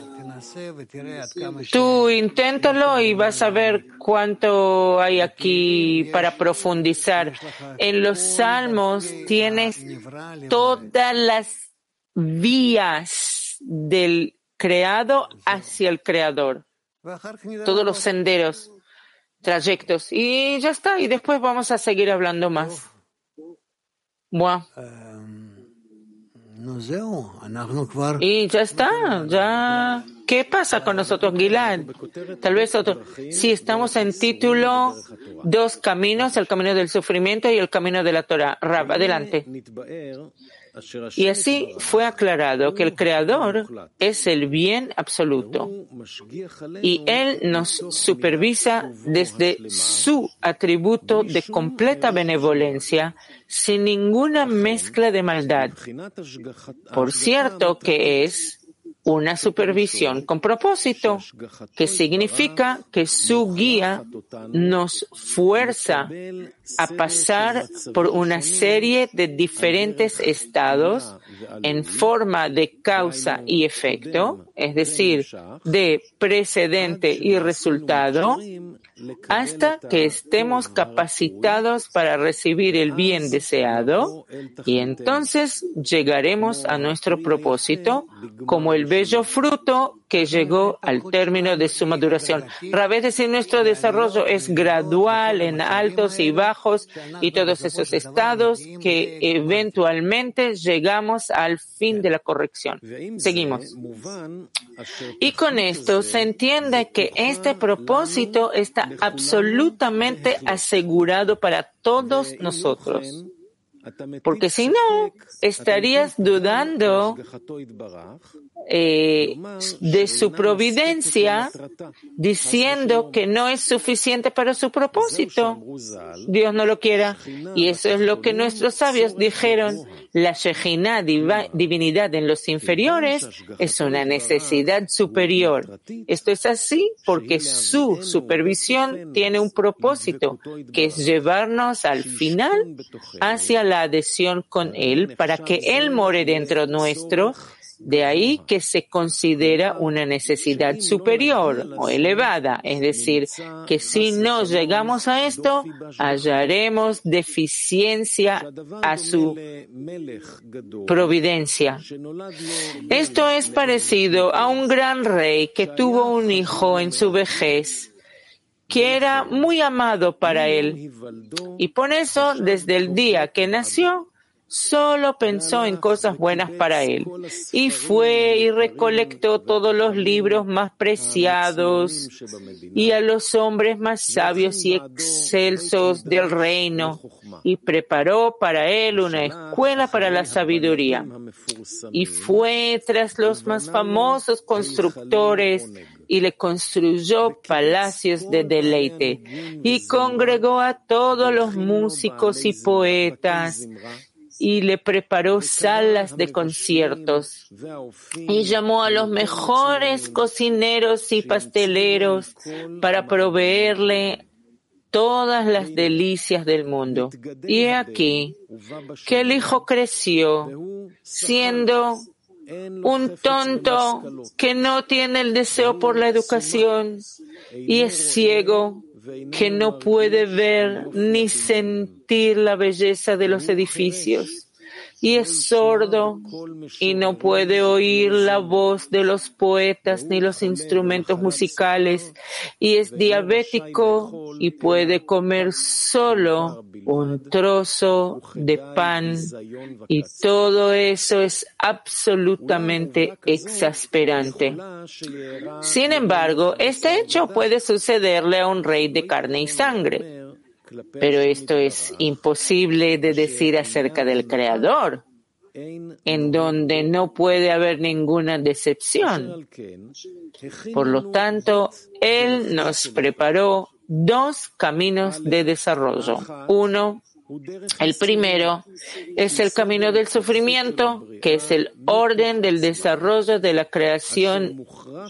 Tú inténtalo y vas a ver cuánto hay aquí para profundizar. En los salmos tienes todas las vías del creado hacia el creador. Todos los senderos, trayectos. Y ya está. Y después vamos a seguir hablando más. Bueno. Y ya está, ya. ¿Qué pasa con nosotros, Gilad? Tal vez otro. Sí, estamos en título Dos caminos, el camino del sufrimiento y el camino de la Torah. Rav, adelante. Y así fue aclarado que el Creador es el bien absoluto y Él nos supervisa desde su atributo de completa benevolencia sin ninguna mezcla de maldad. Por cierto que es una supervisión con propósito, que significa que su guía nos fuerza a pasar por una serie de diferentes estados en forma de causa y efecto, es decir, de precedente y resultado, hasta que estemos capacitados para recibir el bien deseado, y entonces llegaremos a nuestro propósito como el bello fruto que llegó al término de su maduración. Rav, es decir, nuestro desarrollo es gradual, en altos y bajos, y todos esos estados que eventualmente llegamos al fin de la corrección. Seguimos. Y con esto se entiende que este propósito está absolutamente asegurado para todos nosotros. Porque si no, estarías dudando eh, de su providencia, diciendo que no es suficiente para su propósito. Dios no lo quiera. Y eso es lo que nuestros sabios dijeron. La Shejinah, divinidad en los inferiores, es una necesidad superior. Esto es así porque su supervisión tiene un propósito, que es llevarnos al final hacia la adhesión con Él, para que Él more dentro nuestro. De ahí que se considera una necesidad superior o elevada, es decir, que si no llegamos a esto, hallaremos deficiencia a su providencia. Esto es parecido a un gran rey que tuvo un hijo en su vejez, que era muy amado para él, y por eso, desde el día que nació, solo pensó en cosas buenas para él, y fue y recolectó todos los libros más preciados y a los hombres más sabios y excelsos del reino, y preparó para él una escuela para la sabiduría, y fue tras los más famosos constructores y le construyó palacios de deleite, y congregó a todos los músicos y poetas, y le preparó salas de conciertos, y llamó a los mejores cocineros y pasteleros para proveerle todas las delicias del mundo. Y he aquí que el hijo creció, siendo un tonto que no tiene el deseo por la educación, y es ciego, que no puede ver ni sentir la belleza de los edificios, y es sordo y no puede oír la voz de los poetas ni los instrumentos musicales, y es diabético y puede comer solo un trozo de pan, y todo eso es absolutamente exasperante. Sin embargo, este hecho puede sucederle a un rey de carne y sangre. Pero esto es imposible de decir acerca del Creador, en donde no puede haber ninguna decepción. Por lo tanto, Él nos preparó dos caminos de desarrollo. Uno, el primero, es el camino del sufrimiento, que es el orden del desarrollo de la creación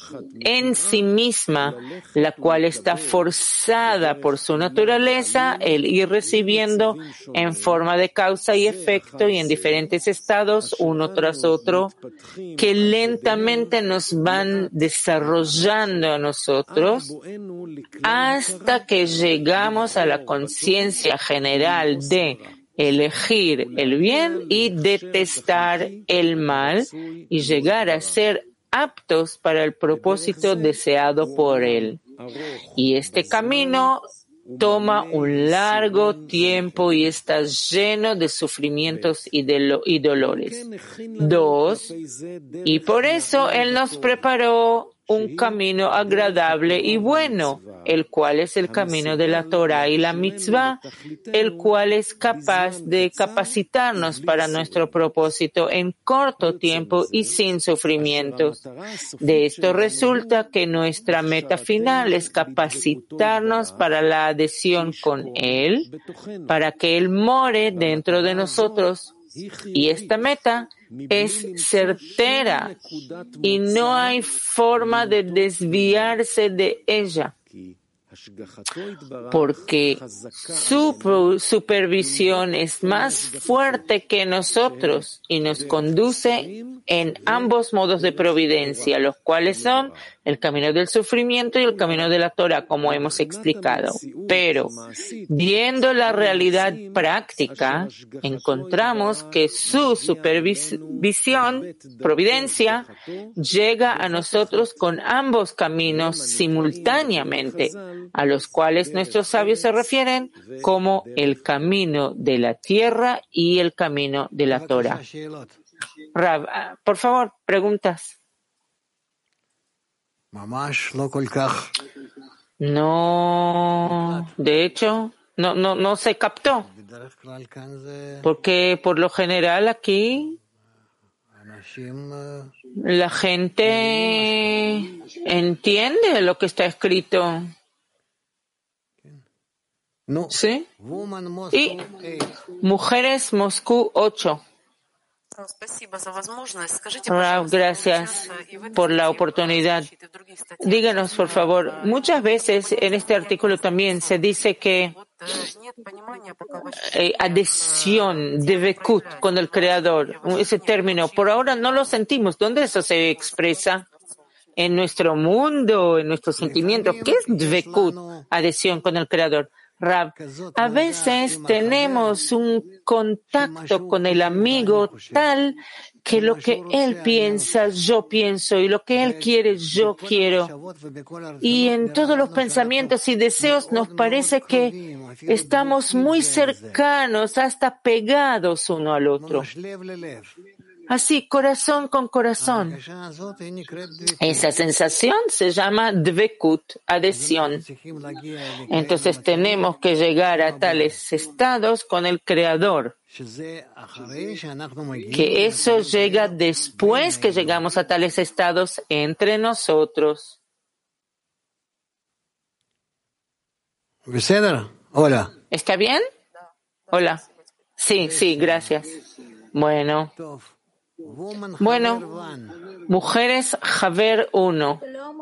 en sí misma, la cual está forzada por su naturaleza el ir recibiendo en forma de causa y efecto y en diferentes estados, uno tras otro, que lentamente nos van desarrollando a nosotros hasta que llegamos a la conciencia general de elegir el bien y detestar el mal, y llegar a ser aptos para el propósito deseado por Él. Y este camino toma un largo tiempo y está lleno de sufrimientos y, de lo, y dolores. Dos, y por eso Él nos preparó un camino agradable y bueno, el cual es el camino de la Torah y la mitzvah, el cual es capaz de capacitarnos para nuestro propósito en corto tiempo y sin sufrimientos. De esto resulta que nuestra meta final es capacitarnos para la adhesión con Él, para que Él more dentro de nosotros. Y esta meta es certera y no hay forma de desviarse de ella, porque su supervisión es más fuerte que nosotros y nos conduce en ambos modos de providencia, los cuales son el camino del sufrimiento y el camino de la Torah, como hemos explicado. Pero, viendo la realidad práctica, encontramos que su supervisión, providencia, llega a nosotros con ambos caminos simultáneamente, a los cuales nuestros sabios se refieren como el camino de la tierra y el camino de la Torah. Rav, por favor, preguntas. No, de hecho, no, no, no se captó, porque por lo general aquí la gente entiende lo que está escrito. ¿Sí? Y Mujeres Moscú ocho. Rav, gracias por la oportunidad. Díganos, por favor, muchas veces en este artículo también se dice que eh, adhesión, devekut con el Creador, ese término, por ahora no lo sentimos. ¿Dónde eso se expresa? En nuestro mundo, en nuestros sentimientos. ¿Qué es devekut, adhesión con el Creador? Rav, a veces tenemos un contacto con el amigo tal que lo que él piensa, yo pienso, y lo que él quiere, yo quiero. Y en todos los pensamientos y deseos nos parece que estamos muy cercanos, hasta pegados uno al otro. Así, corazón con corazón. Esa sensación se llama dvekut, adhesión. Entonces tenemos que llegar a tales estados con el Creador. Que eso llega después que llegamos a tales estados entre nosotros. Hola. ¿Está bien? Hola. Sí, sí, gracias. Bueno. Bueno, Mujeres Javer uno.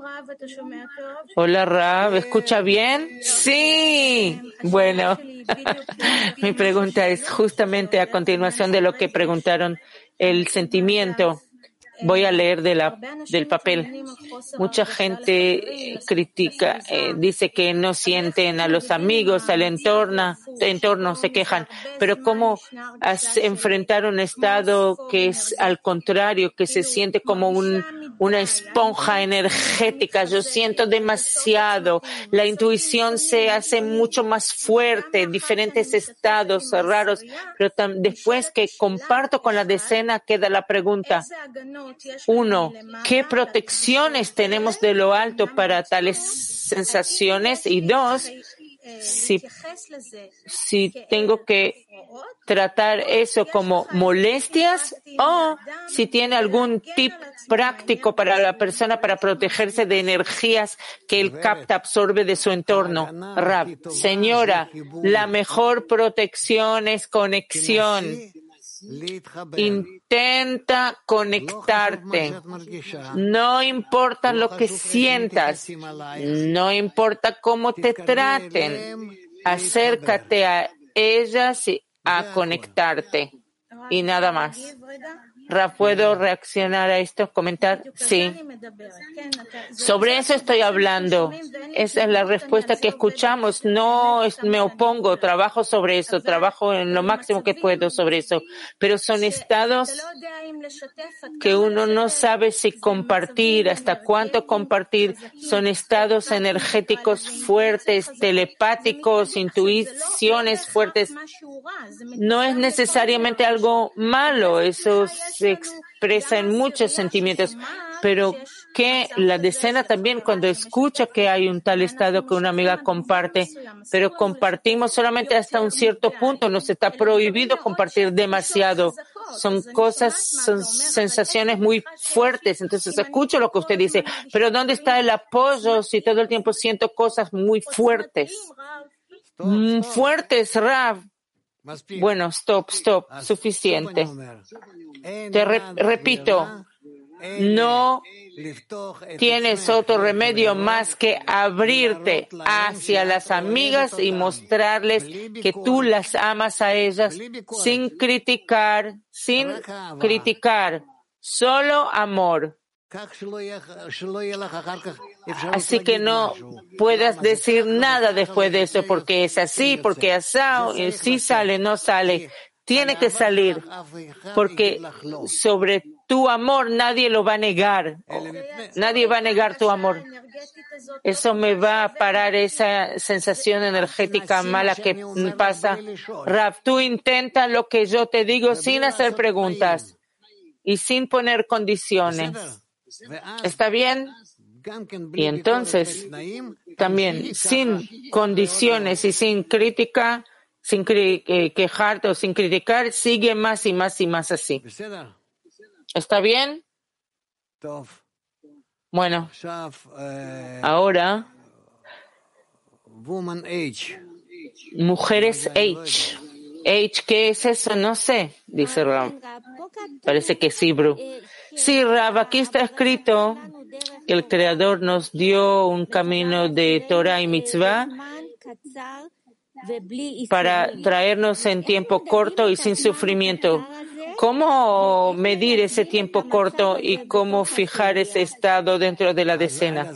Hola, Rav, ¿escucha bien? Sí. Bueno, mi pregunta es justamente a continuación de lo que preguntaron, el sentimiento. Voy a leer de la, del papel. Mucha gente critica, eh, dice que no sienten a los amigos, al entorno, entorno se quejan. Pero ¿cómo enfrentar un estado que es al contrario, que se siente como un, una esponja energética? Yo siento demasiado. La intuición se hace mucho más fuerte, diferentes estados raros. Pero tam, después que comparto con la decena, queda la pregunta. Uno, ¿qué protecciones tenemos de lo alto para tales sensaciones? Y dos, si, si tengo que tratar eso como molestias o si tiene algún tip práctico para la persona para protegerse de energías que él capta, absorbe de su entorno. Rav, señora, la mejor protección es conexión. Intenta conectarte. No importa lo que sientas, no importa cómo te traten, acércate a ellas y a conectarte. Y nada más. Ra, ¿puedo reaccionar a esto? ¿Comentar? Sí. Sobre eso estoy hablando. Esa es la respuesta que escuchamos. No es, me opongo, trabajo sobre eso, trabajo en lo máximo que puedo sobre eso. Pero son estados que uno no sabe si compartir, hasta cuánto compartir. Son estados energéticos fuertes, telepáticos, intuiciones fuertes. No es necesariamente algo malo, eso se expresa en muchos sentimientos, pero que la decena también cuando escucha que hay un tal estado que una amiga comparte, pero compartimos solamente hasta un cierto punto, nos está prohibido compartir demasiado. Son cosas, son sensaciones muy fuertes. Entonces escucho lo que usted dice, pero ¿dónde está el apoyo si todo el tiempo siento cosas muy fuertes? Mm, fuertes, Rav. Bueno, stop, stop, suficiente. Te re- repito, no tienes otro remedio más que abrirte hacia las amigas y mostrarles que tú las amas a ellas sin criticar, sin criticar, solo amor. Así que no puedas decir nada después de eso, porque es así, porque asado, sí sale, no sale. Tiene que salir, porque sobre tu amor nadie lo va a negar. Nadie va a negar tu amor. Eso me va a parar esa sensación energética mala que pasa. Rav, tú intenta lo que yo te digo sin hacer preguntas y sin poner condiciones. ¿Está bien? Y entonces, también, sin condiciones y sin crítica, sin cri- eh, quejarte o sin criticar, sigue más y más y más así. ¿Está bien? Bueno, ahora, mujeres H. H, ¿qué es eso? No sé, dice Rav. Parece que es Hebrew. Sí, Rav, aquí está escrito que el Creador nos dio un camino de Torah y Mitzvah para traernos en tiempo corto y sin sufrimiento. ¿Cómo medir ese tiempo corto y cómo fijar ese estado dentro de la decena?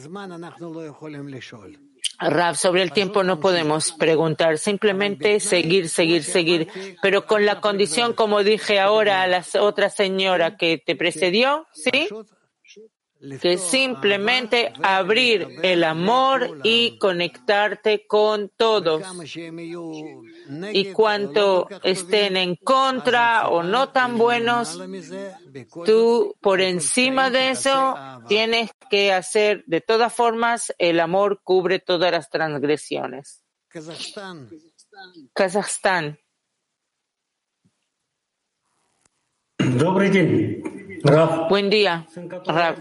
Rav, sobre el tiempo no podemos preguntar, simplemente seguir, seguir, seguir, pero con la condición, como dije ahora a la otra señora que te precedió, ¿sí? Que simplemente abrir el amor y conectarte con todos. Y cuanto estén en contra o no tan buenos, tú por encima de eso tienes que hacer, de todas formas, el amor cubre todas las transgresiones. Kazajstán. Добрый день, Рав. Buen día, Rav.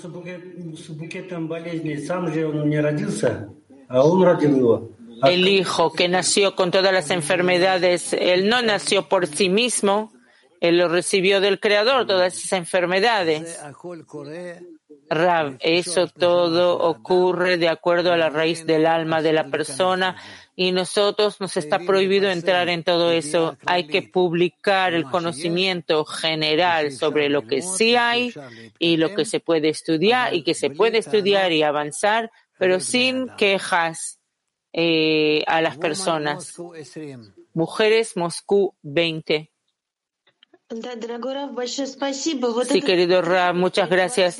Сам же он не родился, а он родил его. El hijo que nació con todas las enfermedades, él no nació por sí mismo, él lo recibió del Creador, todas esas enfermedades. Rav, eso todo ocurre de acuerdo a la raíz del alma de la persona y nosotros nos está prohibido entrar en todo eso. Hay que publicar el conocimiento general sobre lo que sí hay y lo que se puede estudiar y que se puede estudiar y avanzar, pero sin quejas eh, a las personas. Mujeres Moscú veinte. Sí, querido Rav, muchas gracias.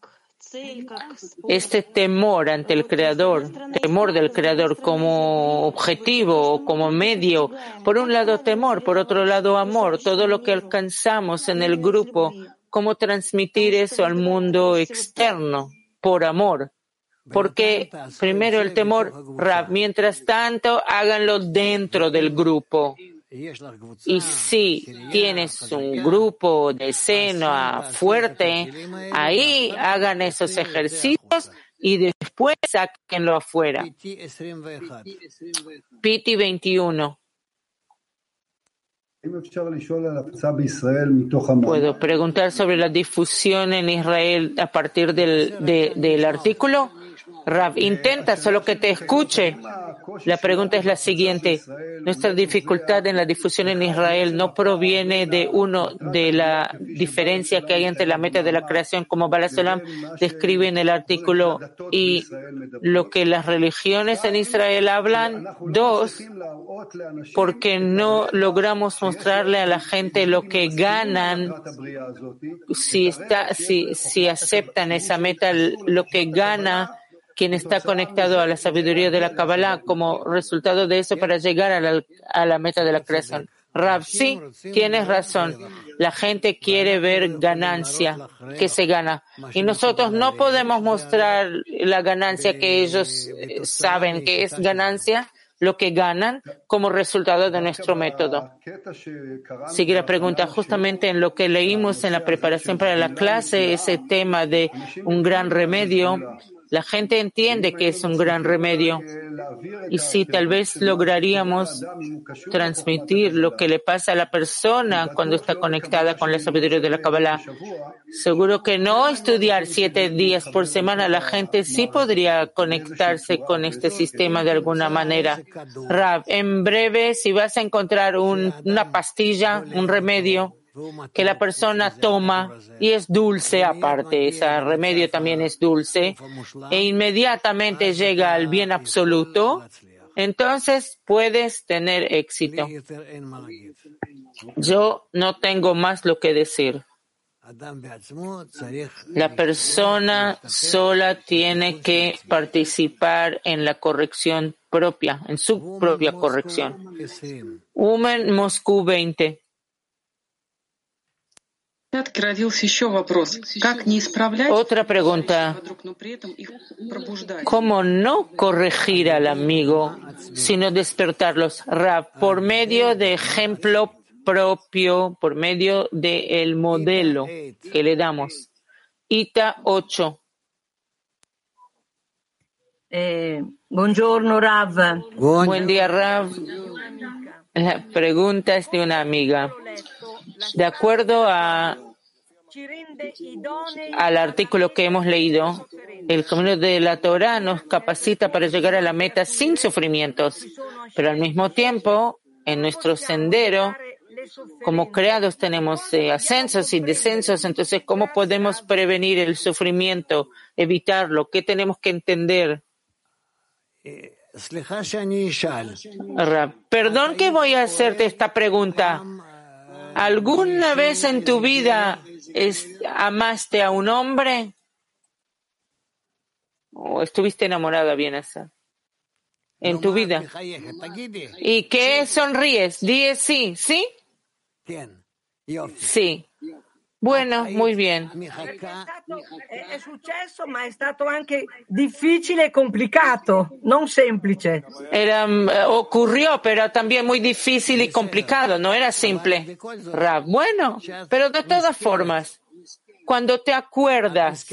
Este temor ante el Creador, temor del Creador como objetivo o como medio, por un lado temor, por otro lado amor, todo lo que alcanzamos en el grupo, cómo transmitir eso al mundo externo por amor. Porque primero el temor, Rav, mientras tanto háganlo dentro del grupo. Y si tienes un grupo de cena fuerte, ahí hagan esos ejercicios y después sáquenlo afuera. Piti veintiuno. ¿Puedo preguntar sobre la difusión en Israel a partir del, de, del artículo? Rav, intenta solo que te escuche. La pregunta es la siguiente. Nuestra dificultad en la difusión en Israel no proviene de uno, de la diferencia que hay entre la meta de la creación, como Baal Olam describe en el artículo, y lo que las religiones en Israel hablan. Dos, porque no logramos mostrarle a la gente lo que ganan si, está, si, si aceptan esa meta, lo que gana quien está conectado a la sabiduría de la Kabbalah como resultado de eso para llegar a la, a la meta de la creación. Rav, sí, tienes razón. La gente quiere ver ganancia, que se gana. Y nosotros no podemos mostrar la ganancia que ellos saben que es ganancia, lo que ganan como resultado de nuestro método. Sigue la pregunta. Justamente en lo que leímos en la preparación para la clase, ese tema de un gran remedio, La gente entiende que es un gran remedio. Y si tal vez lograríamos transmitir lo que le pasa a la persona cuando está conectada con la sabiduría de la Kabbalah, seguro que no estudiar siete días por semana, la gente sí podría conectarse con este sistema de alguna manera. Rav, en breve, si vas a encontrar un, una pastilla, un remedio que la persona toma y es dulce aparte, ese remedio también es dulce, e inmediatamente llega al bien absoluto, entonces puedes tener éxito. Yo no tengo más lo que decir. La persona sola tiene que participar en la corrección propia, en su propia corrección. Umen Moscú veinte. Otra pregunta. ¿Cómo no corregir al amigo, sino despertarlos? Rav, por medio de ejemplo propio, por medio del modelo que le damos. Ita ocho. Eh, buongiorno, Rav. Buen día, Rav. La pregunta es de una amiga. De acuerdo a, al artículo que hemos leído, el camino de la Torah nos capacita para llegar a la meta sin sufrimientos, pero al mismo tiempo, en nuestro sendero, como creados tenemos eh, ascensos y descensos, entonces, ¿cómo podemos prevenir el sufrimiento, evitarlo? ¿Qué tenemos que entender? Perdón que voy a hacerte esta pregunta. ¿Alguna vez en tu vida es, amaste a un hombre? ¿O estuviste enamorada, bien esa? En tu vida. ¿Y qué sonríes? Di sí, ¿sí? Sí. Bueno, muy bien. È successo, ma è stato anche difficile e complicato, non semplice. Era, ocurrió, pero también muy difícil y complicado, no era simple. Rav, bueno, pero de todas formas, cuando te acuerdas,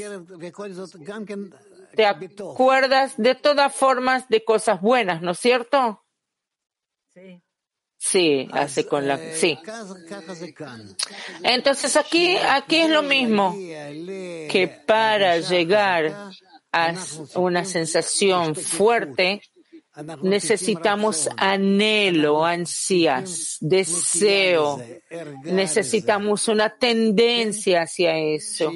te acuerdas de todas formas de cosas buenas, ¿no es cierto? Sí. Sí, hace con la, sí. Entonces aquí, aquí es lo mismo, que para llegar a una sensación fuerte, necesitamos anhelo, ansias, deseo, necesitamos una tendencia hacia eso,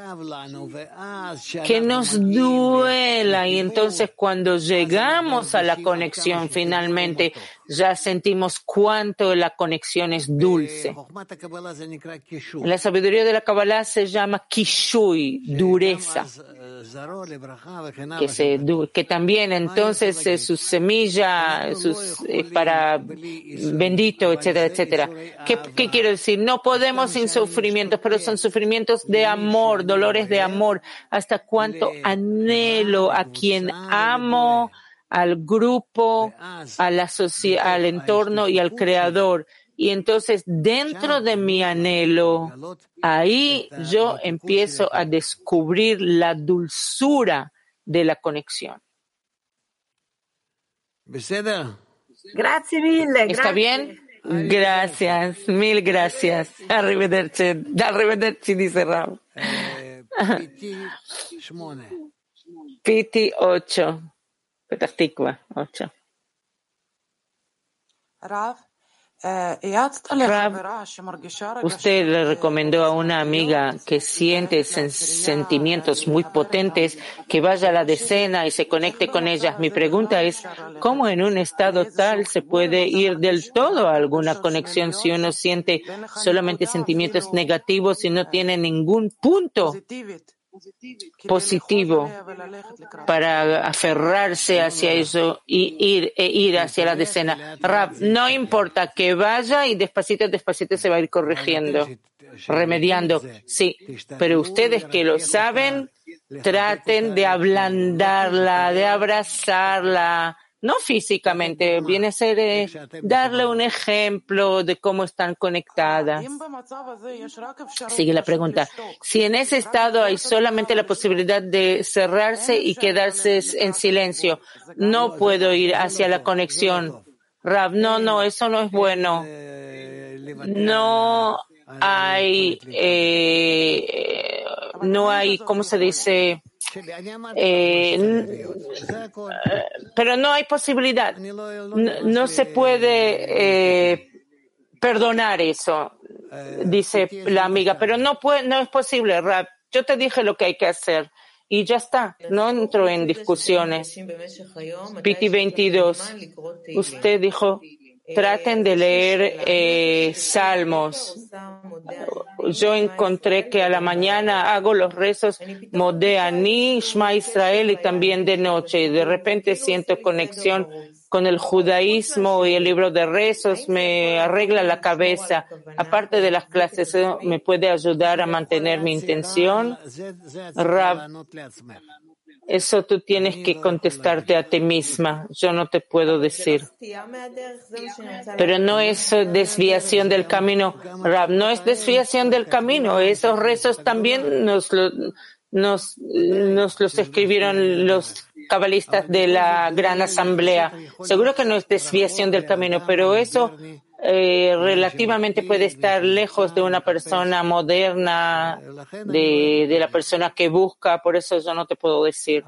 que nos duela, y entonces cuando llegamos a la conexión finalmente ya sentimos cuánto la conexión es dulce. En la sabiduría de la Kabbalah se llama kishui, dureza, que, se, que también entonces eh, sus semilla, sus, eh, para bendito, etcétera, etcétera. ¿Qué, ¿Qué quiero decir? No podemos sin sufrimientos, pero son sufrimientos de amor, dolores de amor. Hasta cuánto anhelo a quien amo, al grupo, a la socie- al entorno y al creador. Y entonces, dentro de mi anhelo, ahí yo empiezo a descubrir la dulzura de la conexión. Grazie mille. ¿Está grazie. bien? Gracias, mil gracias. Arrivederci, arrivederci, dice Rav. Piti ocho. Petah Tikva ocho. Rav, usted le recomendó a una amiga que siente sen- sentimientos muy potentes que vaya a la decena y se conecte con ellas. Mi pregunta es, ¿cómo en un estado tal se puede ir del todo a alguna conexión si uno siente solamente sentimientos negativos y no tiene ningún punto positivo para aferrarse hacia eso y ir, e ir hacia la decena? Rav, no importa que vaya y despacito, despacito se va a ir corrigiendo, remediando. Sí, pero ustedes que lo saben, traten de ablandarla, de abrazarla, no físicamente, viene a ser eh, darle un ejemplo de cómo están conectadas. Sigue la pregunta. Si en ese estado hay solamente la posibilidad de cerrarse y quedarse en silencio, no puedo ir hacia la conexión. Rav, no, no, eso no es bueno. No hay, eh, no hay, ¿cómo se dice? Eh, pero no hay posibilidad. No, no se puede eh, perdonar eso, dice la amiga, pero no puede, no es posible, Rab. Yo te dije lo que hay que hacer y ya está. No entro en discusiones. Piti veintidós. Usted dijo, traten de leer eh, salmos. Yo encontré que a la mañana hago los rezos Modeani, Shema Israel y también de noche. Y de repente siento conexión con el judaísmo y el libro de rezos me arregla la cabeza. Aparte de las clases, ¿eso me puede ayudar a mantener mi intención? Rab, eso tú tienes que contestarte a ti misma. Yo no te puedo decir. Pero no es desviación del camino, Rab. No es desviación del camino. Esos rezos también nos, lo, nos, nos los escribieron los cabalistas de la Gran Asamblea. Seguro que no es desviación del camino, pero eso eh, relativamente puede estar lejos de una persona moderna, de, de la persona que busca, por eso yo no te puedo decir.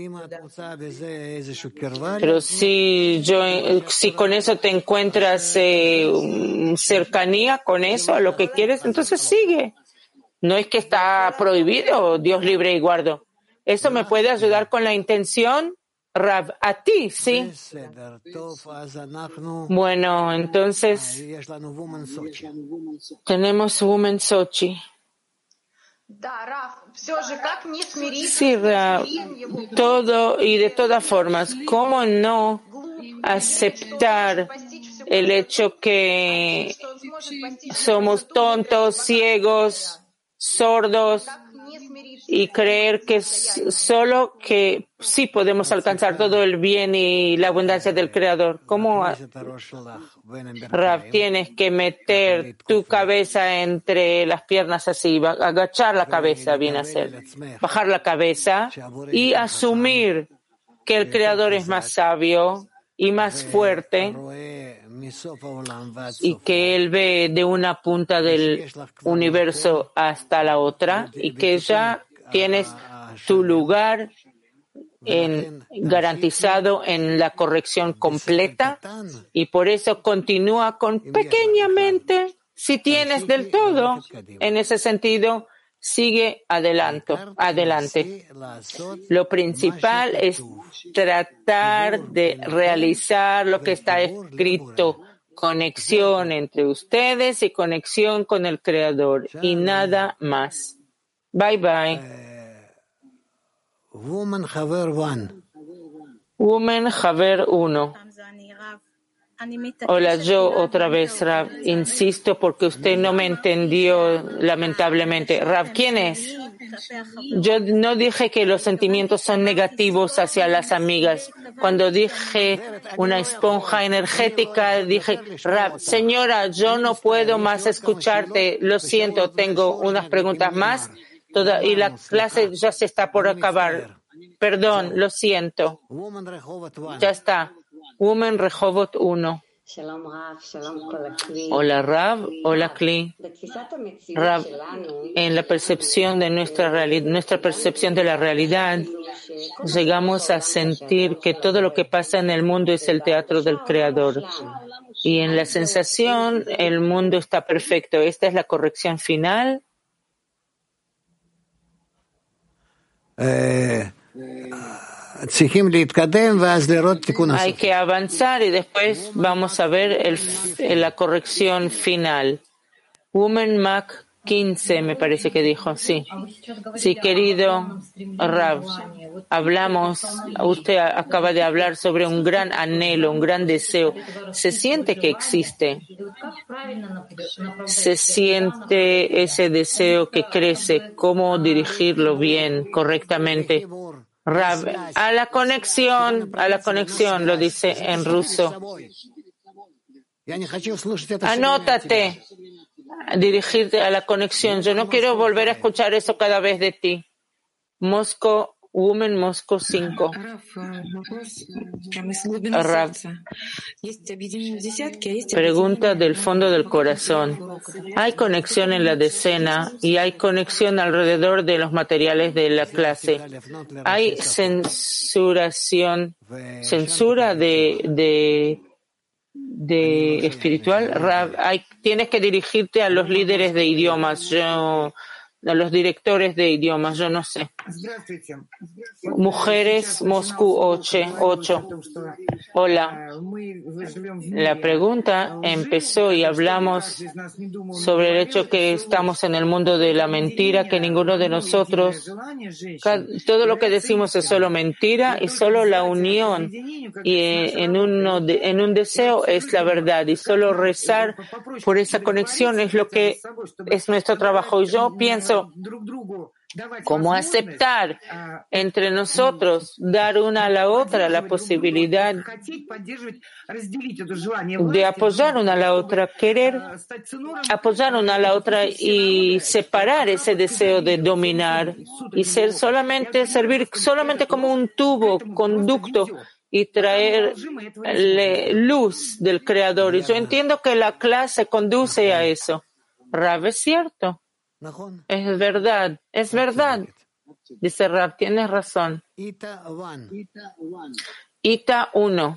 Pero si yo, si con eso te encuentras eh, cercanía con eso, a lo que quieres, entonces sigue. No es que está prohibido, Dios libre y guardo. Eso me puede ayudar con la intención, Rav, a ti, sí. Bueno, entonces tenemos Women Sochi. Sí, Rav, todo y de todas formas, ¿cómo no aceptar el hecho que somos tontos, ciegos, sordos? Y creer que solo que sí podemos alcanzar todo el bien y la abundancia del Creador. ¿Cómo, Rav, tienes que meter tu cabeza entre las piernas así, agachar la cabeza, viene a ser, bajar la cabeza y asumir que el Creador es más sabio y más fuerte y que Él ve de una punta del universo hasta la otra y que ya tienes tu lugar en, garantizado en la corrección completa y por eso continúa con pequeñamente, si tienes del todo, en ese sentido, sigue adelante. adelante. Lo principal es tratar de realizar lo que está escrito, conexión entre ustedes y conexión con el Creador y nada más. Bye bye. Woman Haver one. Woman Haver uno. Hola, yo otra vez, Rav. Insisto porque usted no me entendió, lamentablemente. Rav, ¿quién es? Yo no dije que los sentimientos son negativos hacia las amigas. Cuando dije una esponja energética, dije, Rav, señora, yo no puedo más escucharte. Lo siento, tengo unas preguntas más. Toda, y la clase ya se está por acabar. Perdón, lo siento. Ya está. Woman Rehovot uno. Hola Rav, hola Kli. Rav, en la percepción de nuestra realidad, nuestra percepción de la realidad, llegamos a sentir que todo lo que pasa en el mundo es el teatro del Creador. Y en la sensación, el mundo está perfecto. ¿Esta es la corrección final? Eh... Hay que avanzar y después vamos a ver el, la corrección final. Woman Mac quince, me parece que dijo, sí. Sí, querido Rav, hablamos, usted acaba de hablar sobre un gran anhelo, un gran deseo. Se siente que existe. Se siente ese deseo que crece. ¿Cómo dirigirlo bien, correctamente? Rab, a la conexión, a la conexión, lo dice en ruso. Anótate, dirigirte a la conexión. Yo no quiero volver a escuchar eso cada vez de ti. Moscow, Woman Moscow cinco. Rab. Pregunta del fondo del corazón. Hay conexión en la decena y hay conexión alrededor de los materiales de la clase. Hay censuración, censura de, de, de espiritual. Rab, hay, tienes que dirigirte a los líderes de idiomas. Yo, a los directores de idiomas, yo no sé. Mujeres, Moscú ocho. Hola. La pregunta empezó y hablamos sobre el hecho que estamos en el mundo de la mentira, que ninguno de nosotros, todo lo que decimos es solo mentira y solo la unión y en, uno de, en un deseo es la verdad y solo rezar por esa conexión es lo que es nuestro trabajo. Y yo pienso cómo aceptar entre nosotros, dar una a la otra la posibilidad de apoyar una a la otra, querer apoyar una a la otra y separar ese deseo de dominar y ser solamente, servir solamente como un tubo, conducto y traer luz del Creador. Y yo entiendo que la clase conduce a eso. Rab, es cierto. Es verdad, es verdad. Dice Rab, tienes razón. Ita uno.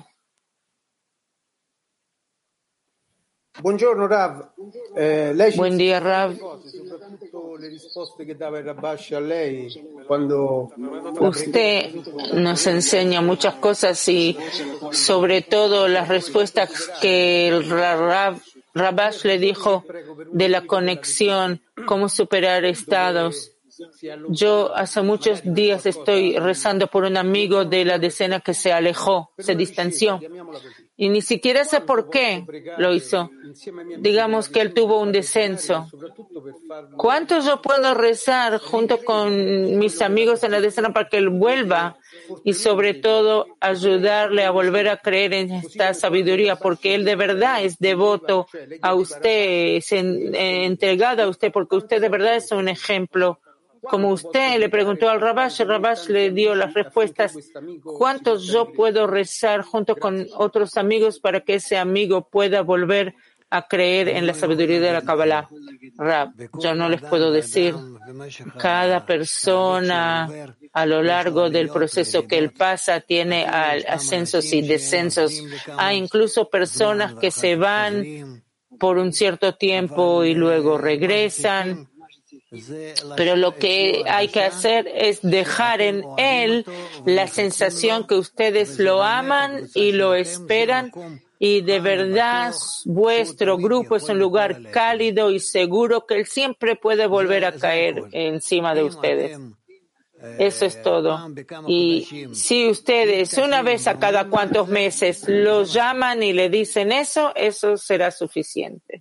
Buongiorno Rav. Eh, lei ci Buen día, Rav. cose, soprattutto le risposte che dava il Rabash a lei quando usted nos enseña muchas cosas y sobre todo las respuestas que el Rav Rabash le dijo de la conexión, cómo superar estados. Yo hace muchos días estoy rezando por un amigo de la decena que se alejó, se distanció. Y ni siquiera sé por qué lo hizo. Digamos que él tuvo un descenso. ¿Cuánto yo puedo rezar junto con mis amigos en la decena para que él vuelva? Y sobre todo ayudarle a volver a creer en esta sabiduría, porque él de verdad es devoto a usted, es en, eh, entregado a usted, porque usted de verdad es un ejemplo. Como usted le preguntó al Rabash, el Rabash le dio las respuestas. ¿Cuántos yo puedo rezar junto con otros amigos para que ese amigo pueda volver a creer en la sabiduría de la Kabbalah? Rab, yo no les puedo decir. Cada persona a lo largo del proceso que él pasa tiene ascensos y descensos. Hay incluso personas que se van por un cierto tiempo y luego regresan. Pero lo que hay que hacer es dejar en él la sensación que ustedes lo aman y lo esperan y de verdad vuestro grupo es un lugar cálido y seguro que él siempre puede volver a caer encima de ustedes. Eso es todo. Y si ustedes una vez a cada cuantos meses lo llaman y le dicen eso, eso será suficiente.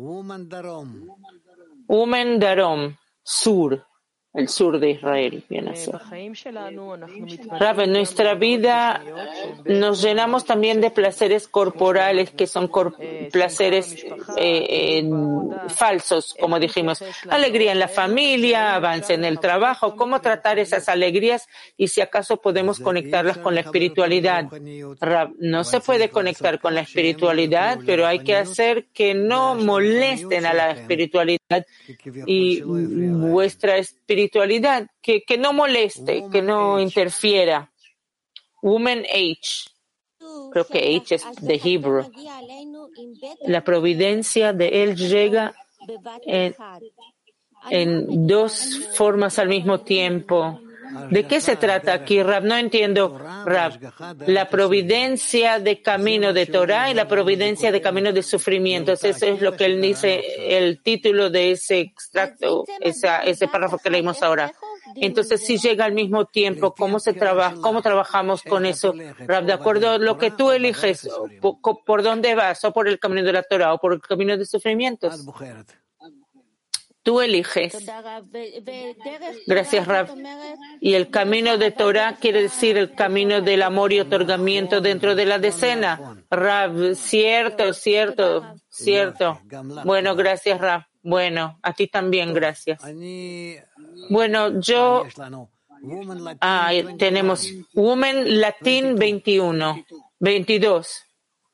Umen Darom, sur, el sur de Israel, viene a ser. Rav, en nuestra vida nos llenamos también de placeres corporales que son cor- placeres eh, eh, falsos, como dijimos. Alegría en la familia, avance en el trabajo, cómo tratar esas alegrías y si acaso podemos conectarlas con la espiritualidad. Rav, no se puede conectar con la espiritualidad, pero hay que hacer que no molesten a la espiritualidad y vuestra espiritualidad, que, que no moleste, que no interfiera. Woman H. Creo que H es de Hebrew. La providencia de él llega en, en dos formas al mismo tiempo. ¿De qué se trata aquí, Rab? No entiendo, Rab. La providencia de camino de Torah y la providencia de camino de sufrimientos. Eso es lo que él dice, el título de ese extracto, esa, ese párrafo que leímos ahora. Entonces, si llega al mismo tiempo, ¿cómo se trabaja? ¿Cómo trabajamos con eso, Rab? De acuerdo a lo que tú eliges, ¿por, por dónde vas? ¿O por el camino de la Torah o por el camino de sufrimientos? Tú eliges. Gracias, Rav. Y el camino de Torah quiere decir el camino del amor y otorgamiento dentro de la decena. Rav, cierto, cierto, cierto. Bueno, gracias, Rav. Bueno, a ti también, gracias. Bueno, yo... Ah, tenemos Women Latin veintiuno, veintidós.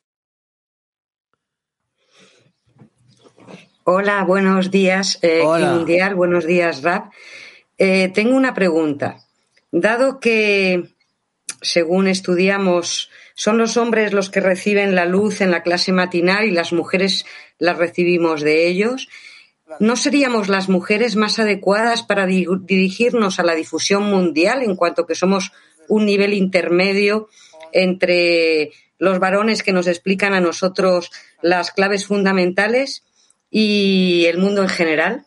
Hola, buenos días, eh, Mundial, buenos días, Rav. Eh, tengo una pregunta. Dado que, según estudiamos, son los hombres los que reciben la luz en la clase matinal y las mujeres la recibimos de ellos, ¿no seríamos las mujeres más adecuadas para di- dirigirnos a la difusión mundial en cuanto que somos un nivel intermedio entre los varones que nos explican a nosotros las claves fundamentales y el mundo en general?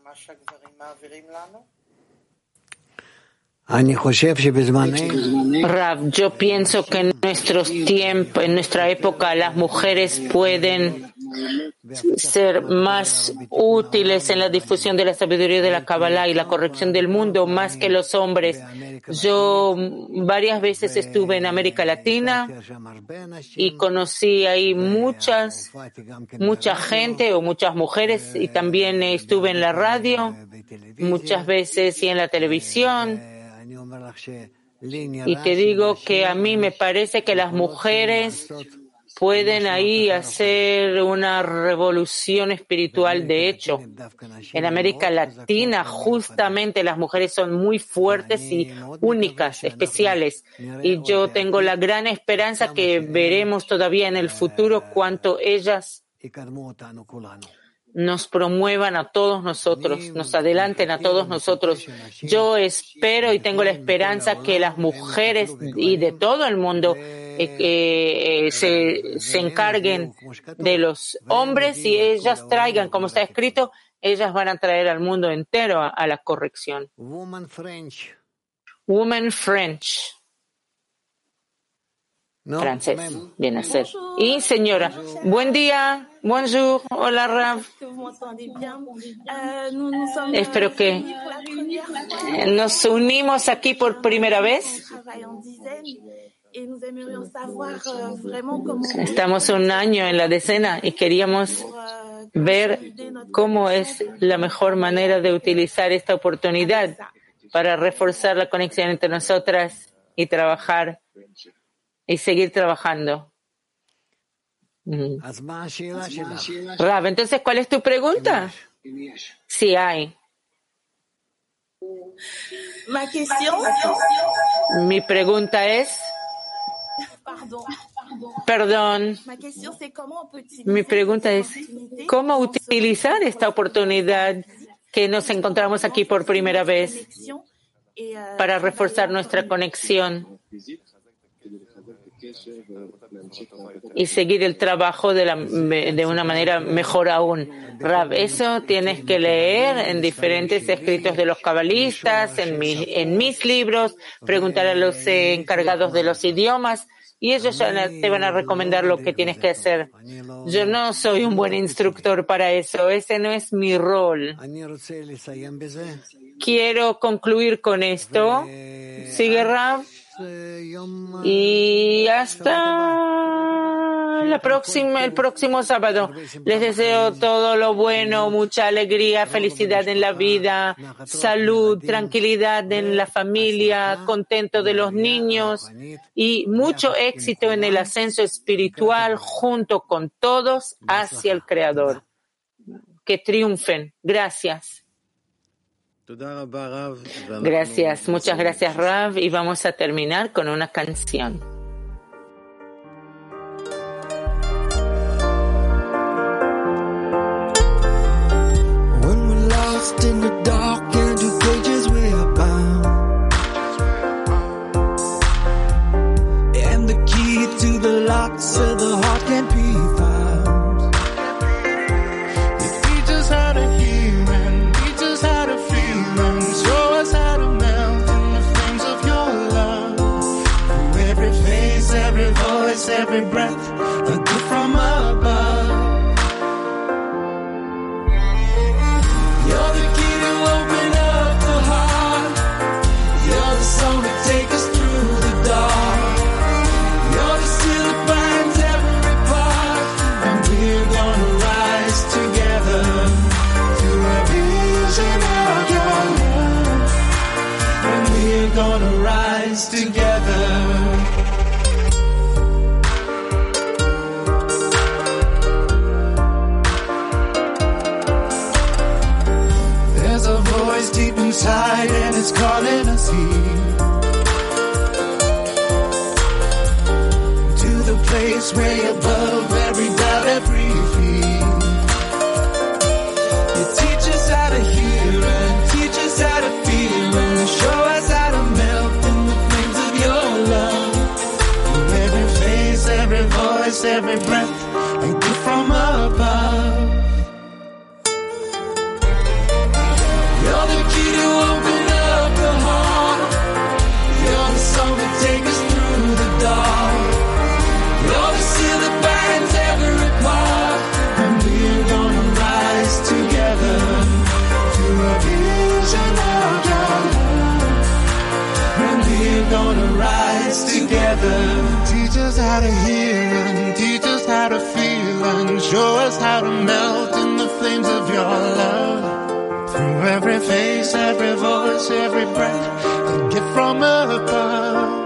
Rav, yo pienso que en nuestros tiempos, en nuestra época, las mujeres pueden ser más útiles en la difusión de la sabiduría de la Kabbalah y la corrección del mundo más que los hombres. Yo varias veces estuve en América Latina y conocí ahí muchas, mucha gente o muchas mujeres, y también estuve en la radio muchas veces y en la televisión. Y te digo que a mí me parece que las mujeres pueden ahí hacer una revolución espiritual. De hecho, en América Latina justamente las mujeres son muy fuertes y únicas, especiales. Y yo tengo la gran esperanza que veremos todavía en el futuro cuánto ellas nos promuevan a todos nosotros, nos adelanten a todos nosotros. Yo espero y tengo la esperanza que las mujeres y de todo el mundo eh, eh, se, se encarguen de los hombres y ellas traigan, como está escrito, ellas van a traer al mundo entero a, a la corrección. Woman French. Woman French. No, Francés, même. bien hacer. Y señora, buen día, bonjour, hola Rav. Espero que nos unimos aquí por primera vez. Estamos un año en la decena y queríamos ver cómo es la mejor manera de utilizar esta oportunidad para reforzar la conexión entre nosotras y trabajar y seguir trabajando. Mm. Rav, entonces, ¿cuál es tu pregunta? Sí hay. Mi pregunta es... Perdón. Mi pregunta es, ¿cómo utilizar esta oportunidad que nos encontramos aquí por primera vez para reforzar nuestra conexión y seguir el trabajo de, la, de una manera mejor aún? Rav, eso tienes que leer en diferentes escritos de los cabalistas, en, mi, en mis libros, preguntar a los eh, encargados de los idiomas y ellos te van a recomendar lo que tienes que hacer. Yo no soy un buen instructor para eso, ese no es mi rol. Quiero concluir con esto. ¿Sigue, Rav? Y hasta la próxima, el próximo sábado. Les deseo todo lo bueno, mucha alegría, felicidad en la vida, salud, tranquilidad en la familia, contento de los niños y mucho éxito en el ascenso espiritual junto con todos hacia el Creador. Que triunfen. Gracias. Gracias, muchas gracias, Rav, y vamos a terminar con una canción. When we're lost in the dark and two pages we are bound, and the key to the lock so the heart can't be found. You teach us how to hear and teach us how to feel. Show us how to melt in the flames of your love. Through every face, every voice, every breath, a gift from above. You're the rise together. There's a voice deep inside and it's calling us here to the place way above every doubt, every fear. You teach us how to hear and teach us how to feel and show us how to melt in the flames of your love. Every face, every voice, every breath, a gift from above. You're the key to open up the heart. You're the song that takes us through the dark. You're the seal that binds every part. And we're gonna rise together to a vision of your love. And we're gonna rise together. Teach us how to hear and teach us how to feel and show us how to melt in the flames of your love. Through every face, every voice, every breath, a gift from above.